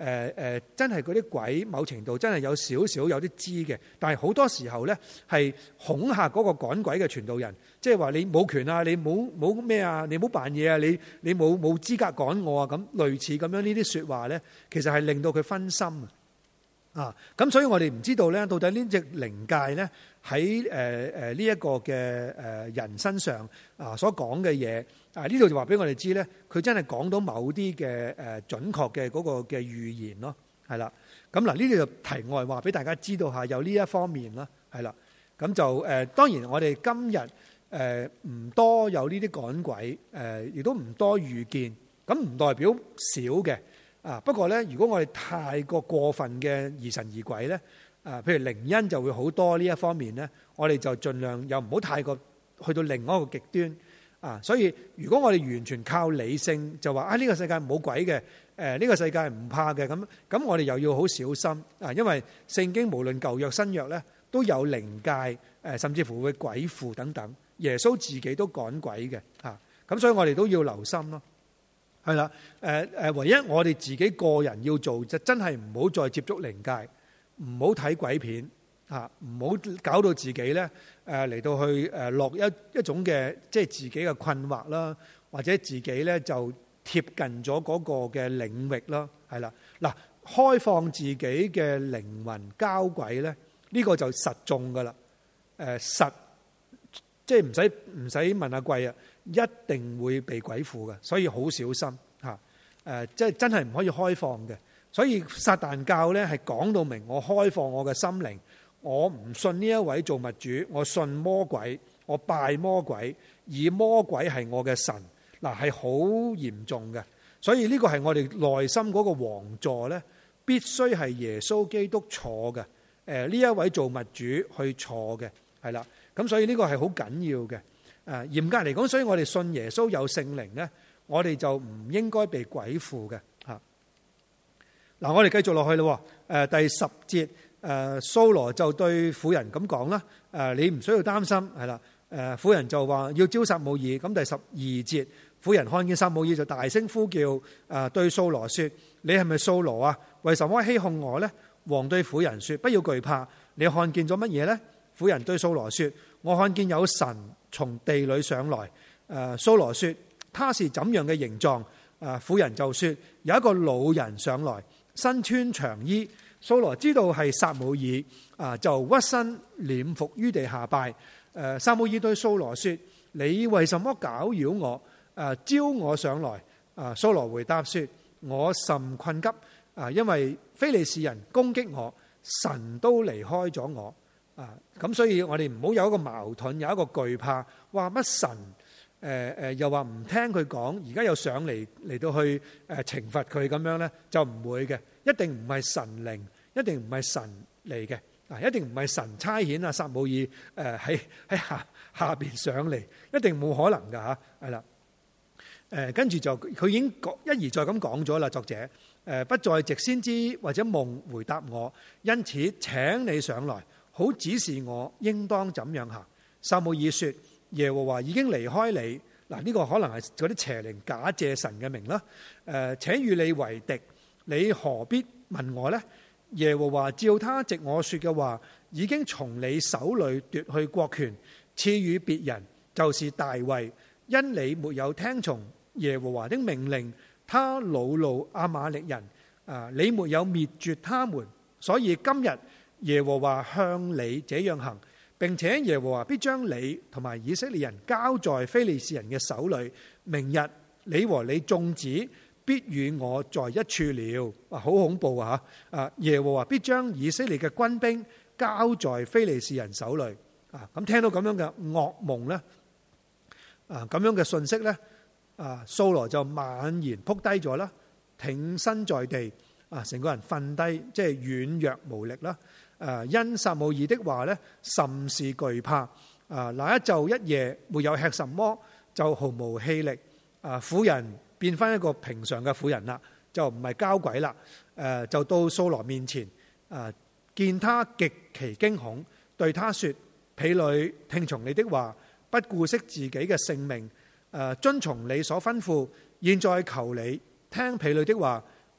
誒誒，真係嗰啲鬼某程度真係有少少有啲知嘅，但係好多時候咧係恐嚇嗰個趕鬼嘅傳道人，即係話你冇權啊，你冇冇咩啊，你冇扮嘢啊，你你冇冇資格趕我啊，咁類似咁樣呢啲説話咧，其實係令到佢分心啊。咁所以我哋唔知道咧，到底呢隻靈界咧喺誒誒呢一個嘅誒人身上啊所講嘅嘢。啊！呢度就話俾我哋知咧，佢真係講到某啲嘅誒準確嘅嗰個嘅預言咯，係啦。咁嗱，呢啲就題外話俾大家知道下，有呢一方面啦，係啦。咁就誒，當然我哋今日誒唔多有呢啲趕鬼，誒亦都唔多遇見，咁唔代表少嘅啊。不過咧，如果我哋太過過分嘅疑神疑鬼咧，啊，譬如靈恩就會好多呢一方面咧，我哋就盡量又唔好太過去到另外一個極端。啊，所以如果我哋完全靠理性就話啊，呢個世界冇鬼嘅，誒呢個世界唔怕嘅，咁咁我哋又要好小心啊，因為聖經無論舊約新約咧都有靈界，誒甚至乎會鬼附等等，耶穌自己都趕鬼嘅嚇，咁所以我哋都要留心咯。係啦，誒誒，唯一我哋自己個人要做就真係唔好再接觸靈界，唔好睇鬼片。嚇，唔好搞到自己咧，誒嚟到去誒落一一種嘅即係自己嘅困惑啦，或者自己咧就貼近咗嗰個嘅領域啦，係啦，嗱，開放自己嘅靈魂交鬼咧，呢個就實中噶啦，誒實即係唔使唔使問阿貴啊，一定會被鬼附嘅，所以好小心嚇，誒即係真係唔可以開放嘅，所以撒旦教咧係講到明，我開放我嘅心靈。我唔信呢一位造物主，我信魔鬼，我拜魔鬼，以魔鬼係我嘅神，嗱係好嚴重嘅。所以呢個係我哋內心嗰個王座咧，必須係耶穌基督坐嘅。誒呢一位造物主去坐嘅，係啦。咁所以呢個係好緊要嘅。誒嚴格嚟講，所以我哋信耶穌有聖靈咧，我哋就唔應該被鬼附嘅。嚇，嗱我哋繼續落去咯。誒第十節。誒掃羅就對婦人咁講啦，誒你唔需要擔心，係啦。誒婦人就話要招撒母耳，咁第十二節，婦人看見撒母耳就大聲呼叫，誒對掃羅說：你係咪掃羅啊？為什麼欺哄我呢？王對婦人說：不要懼怕，你看見咗乜嘢呢？婦人對掃羅說：我看見有神從地裏上來。誒掃羅說：他是怎樣嘅形狀？誒婦人就說：有一個老人上來，身穿長衣。掃羅知道係撒母耳，啊就屈身臉伏於地下拜。誒撒母耳對掃羅說：你為什麼攪擾我？誒招我上來。啊掃羅回答說：我甚困急，啊因為非利士人攻擊我，神都離開咗我。啊咁所以我哋唔好有一個矛盾，有一個懼怕。話乜神？誒誒又話唔聽佢講，而家又上嚟嚟到去誒懲罰佢咁樣咧，就唔會嘅。一定唔係神靈，一定唔係神嚟嘅，啊！一定唔係神差遣啊撒母耳誒喺喺下下邊上嚟，一定冇可能噶嚇，係啦。誒跟住就佢已經一而再咁講咗啦，作者誒不再藉先知或者夢回答我，因此請你上來，好指示我應當怎樣行。撒母耳說：耶和華已經離開你，嗱呢個可能係嗰啲邪靈假借神嘅名啦。誒請與你為敵。你何必問我呢？耶和華照他藉我說嘅話，已經從你手裏奪去國權，賜予別人，就是大衛。因你沒有聽從耶和華的命令，他惱怒亞瑪力人，啊，你沒有滅絕他們，所以今日耶和華向你這樣行，並且耶和華必將你同埋以色列人交在非利士人嘅手裏。明日你和你眾子必與我在一處了。啊，好恐怖啊！啊，耶和華必將以色列嘅軍兵交在非利士人手裏。啊，咁聽到咁樣嘅噩夢咧，啊，咁樣嘅信息咧，啊，掃羅就猛然撲低咗啦，挺身在地，啊，成個人瞓低，即係軟弱無力啦。誒，因撒母耳的話咧，甚是懼怕。啊，那一晝一夜沒有吃什麼，就毫無氣力。啊，婦人變翻一個平常嘅婦人啦，就唔係交鬼啦。誒，就到掃羅面前，啊，見他極其驚恐，對他說：婢女聽從你的話，不顧惜自己嘅性命，誒，遵從你所吩咐。現在求你聽婢女的話，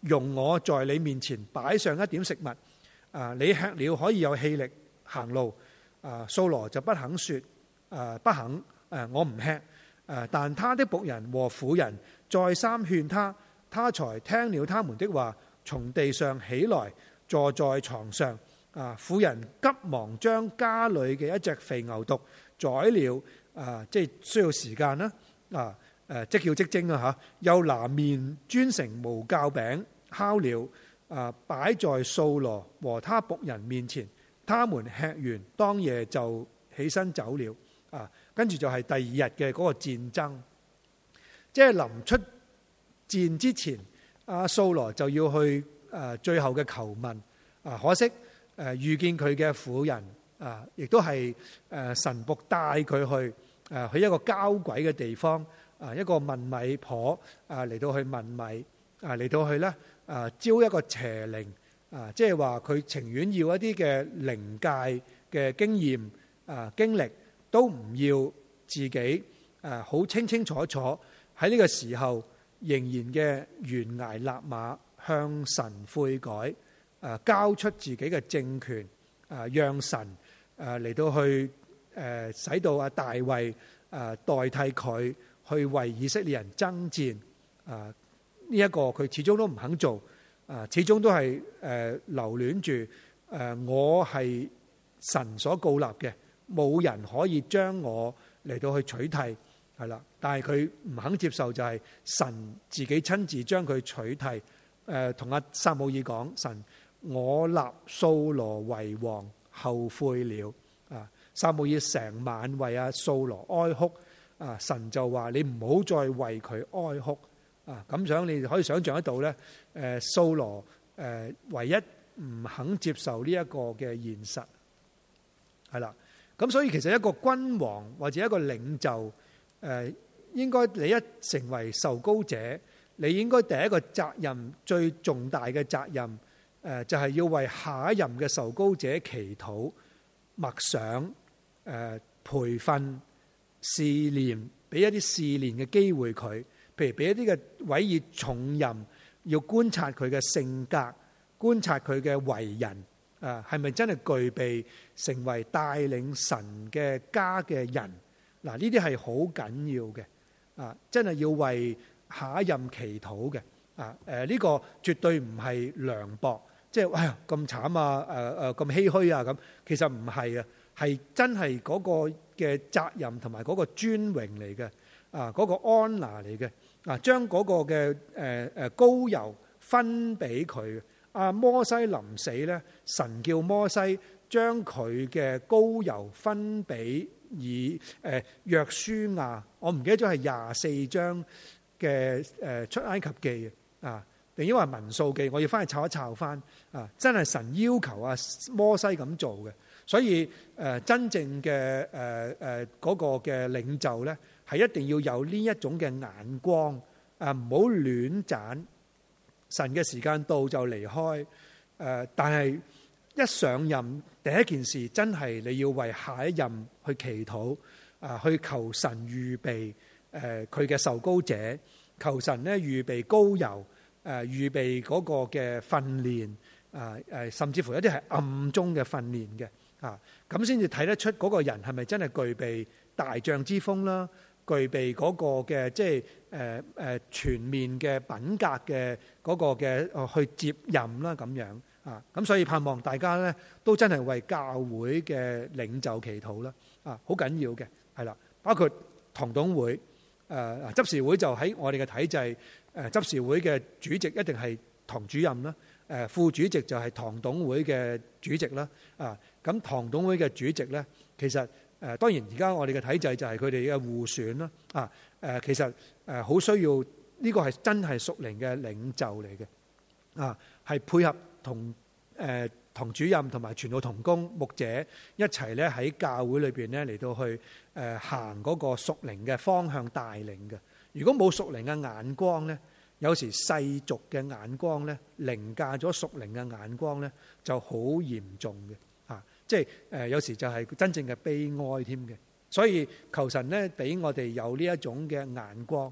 容我在你面前擺上一點食物，啊，你吃了可以有氣力行路。啊，掃羅就不肯說，啊，不肯，誒，我唔吃。誒，但他的僕人和婦人再三勸他，他才聽了他們的話，從地上起來，坐在床上。啊，婦人急忙將家裏嘅一隻肥牛犢宰了，啊，即係需要時間啦。啊，誒，即叫即蒸啊嚇，又拿麵煎成無酵餅烤了，啊，擺在掃羅和他僕人面前。他們吃完，當夜就起身走了。啊，跟住就係第二日嘅嗰個戰爭，即係臨出戰之前，阿掃羅就要去誒最後嘅求問。啊，可惜誒遇見佢嘅婦人，啊，亦都係誒神僕帶佢去誒去一個交鬼嘅地方，啊，一個問米婆啊嚟到去問米，啊嚟到去咧啊招一個邪靈。啊，即係話佢情願要一啲嘅靈界嘅經驗啊經歷，都唔要自己誒好清清楚楚喺呢個時候仍然嘅懸崖勒馬向神悔改，誒交出自己嘅政權，誒讓神誒嚟到去誒使到阿大衛誒代替佢去為以色列人爭戰，啊呢一個佢始終都唔肯做。啊，始終都係誒留戀住誒，我係神所膏立嘅，冇人可以將我嚟到去取替，係啦。但係佢唔肯接受，就係神自己親自將佢取替。誒，同阿撒母耳講，神，我立掃羅為王，後悔了。啊，撒母耳成晚為阿掃羅哀哭。啊，神就話你唔好再為佢哀哭。啊，咁樣你可以想象得到咧，誒掃羅誒唯一唔肯接受呢一個嘅現實，係啦。咁所以其實一個君王或者一個領袖，誒應該你一成為受膏者，你應該第一個責任最重大嘅責任，誒就係要為下一任嘅受膏者祈禱、默想、誒培訓、試煉，俾一啲試煉嘅機會佢。譬如俾一啲嘅委以重任，要觀察佢嘅性格，觀察佢嘅為人，啊，係咪真係具備成為帶領神嘅家嘅人？嗱，呢啲係好緊要嘅，啊，真係要為下一任祈禱嘅，啊，誒呢個絕對唔係涼薄，即係哎呀咁慘啊，誒誒咁唏噓啊咁，其實唔係啊，係真係嗰個嘅責任同埋嗰個尊榮嚟嘅，啊，嗰個安拿嚟嘅。啊！將嗰個嘅誒誒膏油分俾佢。阿摩西臨死咧，神叫摩西將佢嘅膏油分俾以誒約書亞。我唔記得咗係廿四章嘅誒出埃及記啊，定因為民數記，我要翻去抄一抄翻啊！真係神要求阿摩西咁做嘅，所以誒真正嘅誒誒嗰個嘅領袖咧。係一定要有呢一種嘅眼光，啊唔好亂斬。神嘅時間到就離開，誒但係一上任第一件事真係你要為下一任去祈禱，啊去求神預備誒佢嘅受膏者，求神咧預備膏油，誒預備嗰個嘅訓練，啊誒甚至乎一啲係暗中嘅訓練嘅，啊咁先至睇得出嗰個人係咪真係具備大將之風啦。具備嗰個嘅即係誒誒全面嘅品格嘅嗰個嘅去接任啦咁樣啊，咁所以盼望大家咧都真係為教會嘅領袖祈禱啦啊，好緊要嘅係啦，包括堂董會誒執事會就喺我哋嘅體制誒執事會嘅主席一定係堂主任啦，誒副主席就係堂董會嘅主席啦啊，咁堂董會嘅主席咧其實。誒當然，而家我哋嘅體制就係佢哋嘅互選啦。啊誒，其實誒好需要呢個係真係屬靈嘅領袖嚟嘅。啊，係配合同誒堂主任同埋傳道同工牧者一齊咧喺教會裏邊咧嚟到去誒行嗰個屬靈嘅方向帶領嘅。如果冇屬靈嘅眼光咧，有時世俗嘅眼光咧凌駕咗屬靈嘅眼光咧，就好嚴重嘅。即係誒，有時就係真正嘅悲哀添嘅，所以求神咧俾我哋有呢一種嘅眼光嚇，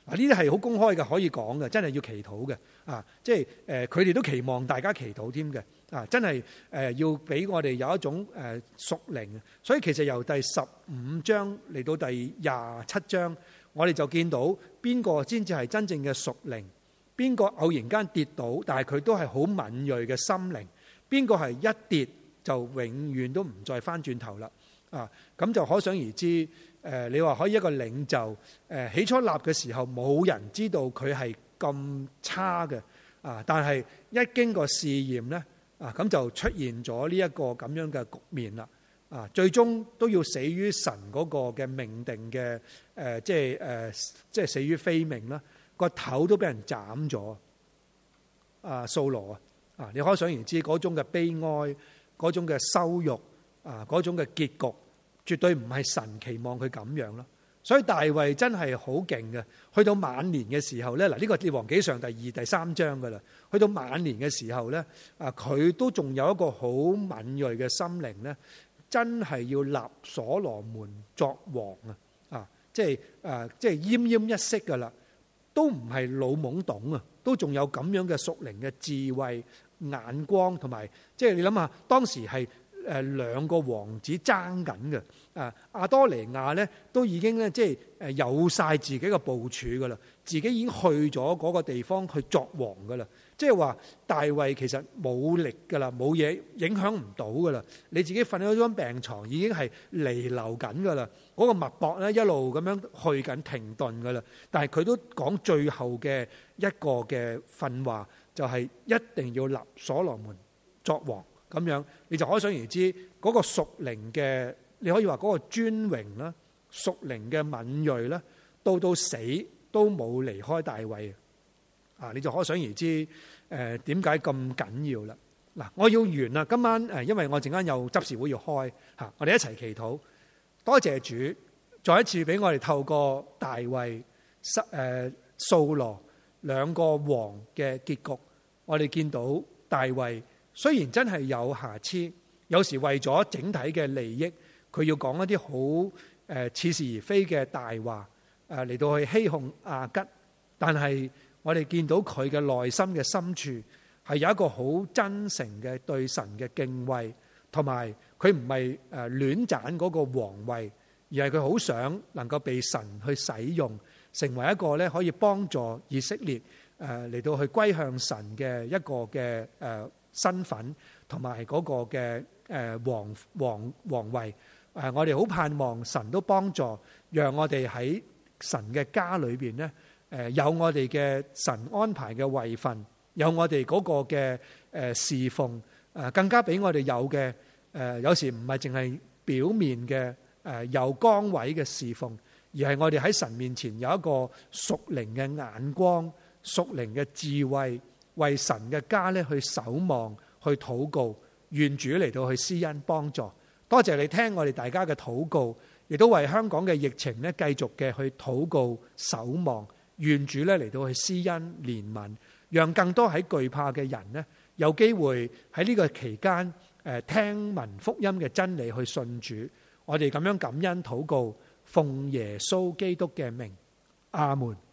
啊，呢啲係好公開嘅，可以講嘅，真係要祈禱嘅啊！即係誒，佢哋都期望大家祈禱添嘅啊！真係誒，要俾我哋有一種誒屬靈。所以其實由第十五章嚟到第廿七章，我哋就見到邊個先至係真正嘅屬靈，邊個偶然間跌倒，但係佢都係好敏銳嘅心靈，邊個係一跌就永遠都唔再翻轉頭啦啊！咁就可想而知。誒，你話可以一個領袖，誒起初立嘅時候冇人知道佢係咁差嘅，啊！但係一經過試驗咧，啊咁就出現咗呢一個咁樣嘅局面啦，啊！最終都要死於神嗰個嘅命定嘅，誒即係誒即係死於非命啦，個頭都俾人斬咗，啊掃羅啊，啊你可想而知嗰種嘅悲哀，嗰種嘅羞辱，啊嗰種嘅結局。絕對唔係神期望佢咁樣咯，所以大衛真係好勁嘅。去到晚年嘅時候咧，嗱呢個列王紀上第二、第三章噶啦。去到晚年嘅時候咧，啊佢都仲有一個好敏銳嘅心靈咧，真係要立所羅門作王啊！啊，即係誒，即係奄奄一息噶啦，都唔係老懵懂啊，都仲有咁樣嘅屬靈嘅智慧、眼光同埋，即係你諗下，當時係。誒兩個王子爭緊嘅，啊亞多尼亞咧都已經咧即係誒有晒自己嘅部署噶啦，自己已經去咗嗰個地方去作王噶啦，即係話大衛其實冇力噶啦，冇嘢影響唔到噶啦，你自己瞓喺張病床已經係彌留緊噶啦，嗰、那個脈搏咧一路咁樣去緊停頓噶啦，但係佢都講最後嘅一個嘅訓話，就係、是、一定要立所羅門作王。咁樣你就可想而知嗰個屬靈嘅，你可以話嗰個尊榮啦，屬靈嘅敏銳啦，到到死都冇離開大衛啊！你就可想而知誒點解咁緊要啦？嗱，我要完啦，今晚誒，因為我陣間有執事會要開嚇，我哋一齊祈禱，多謝主，再一次俾我哋透過大衛、誒掃羅兩個王嘅結局，我哋見到大衛。雖然真係有瑕疵，有時為咗整體嘅利益，佢要講一啲好誒似是而非嘅大話，誒嚟到去欺哄亞吉。但係我哋見到佢嘅內心嘅深處係有一個好真誠嘅對神嘅敬畏，同埋佢唔係誒亂斬嗰個皇位，而係佢好想能夠被神去使用，成為一個咧可以幫助以色列誒嚟到去歸向神嘅一個嘅誒身份同埋嗰個嘅誒皇皇皇位，誒我哋好盼望神都幫助，讓我哋喺神嘅家裏邊咧，誒有我哋嘅神安排嘅位份，有我哋嗰個嘅誒侍奉，誒更加俾我哋有嘅誒，有時唔係淨係表面嘅誒有崗位嘅侍奉，而係我哋喺神面前有一個屬靈嘅眼光、屬靈嘅智慧。為神嘅家咧去守望、去禱告，願主嚟到去施恩幫助。多謝你聽我哋大家嘅禱告，亦都為香港嘅疫情咧繼續嘅去禱告守望，願主咧嚟到去施恩憐憫，讓更多喺懼怕嘅人咧有機會喺呢個期間誒聽聞福音嘅真理去信主。我哋咁樣感恩禱告，奉耶穌基督嘅名，阿門。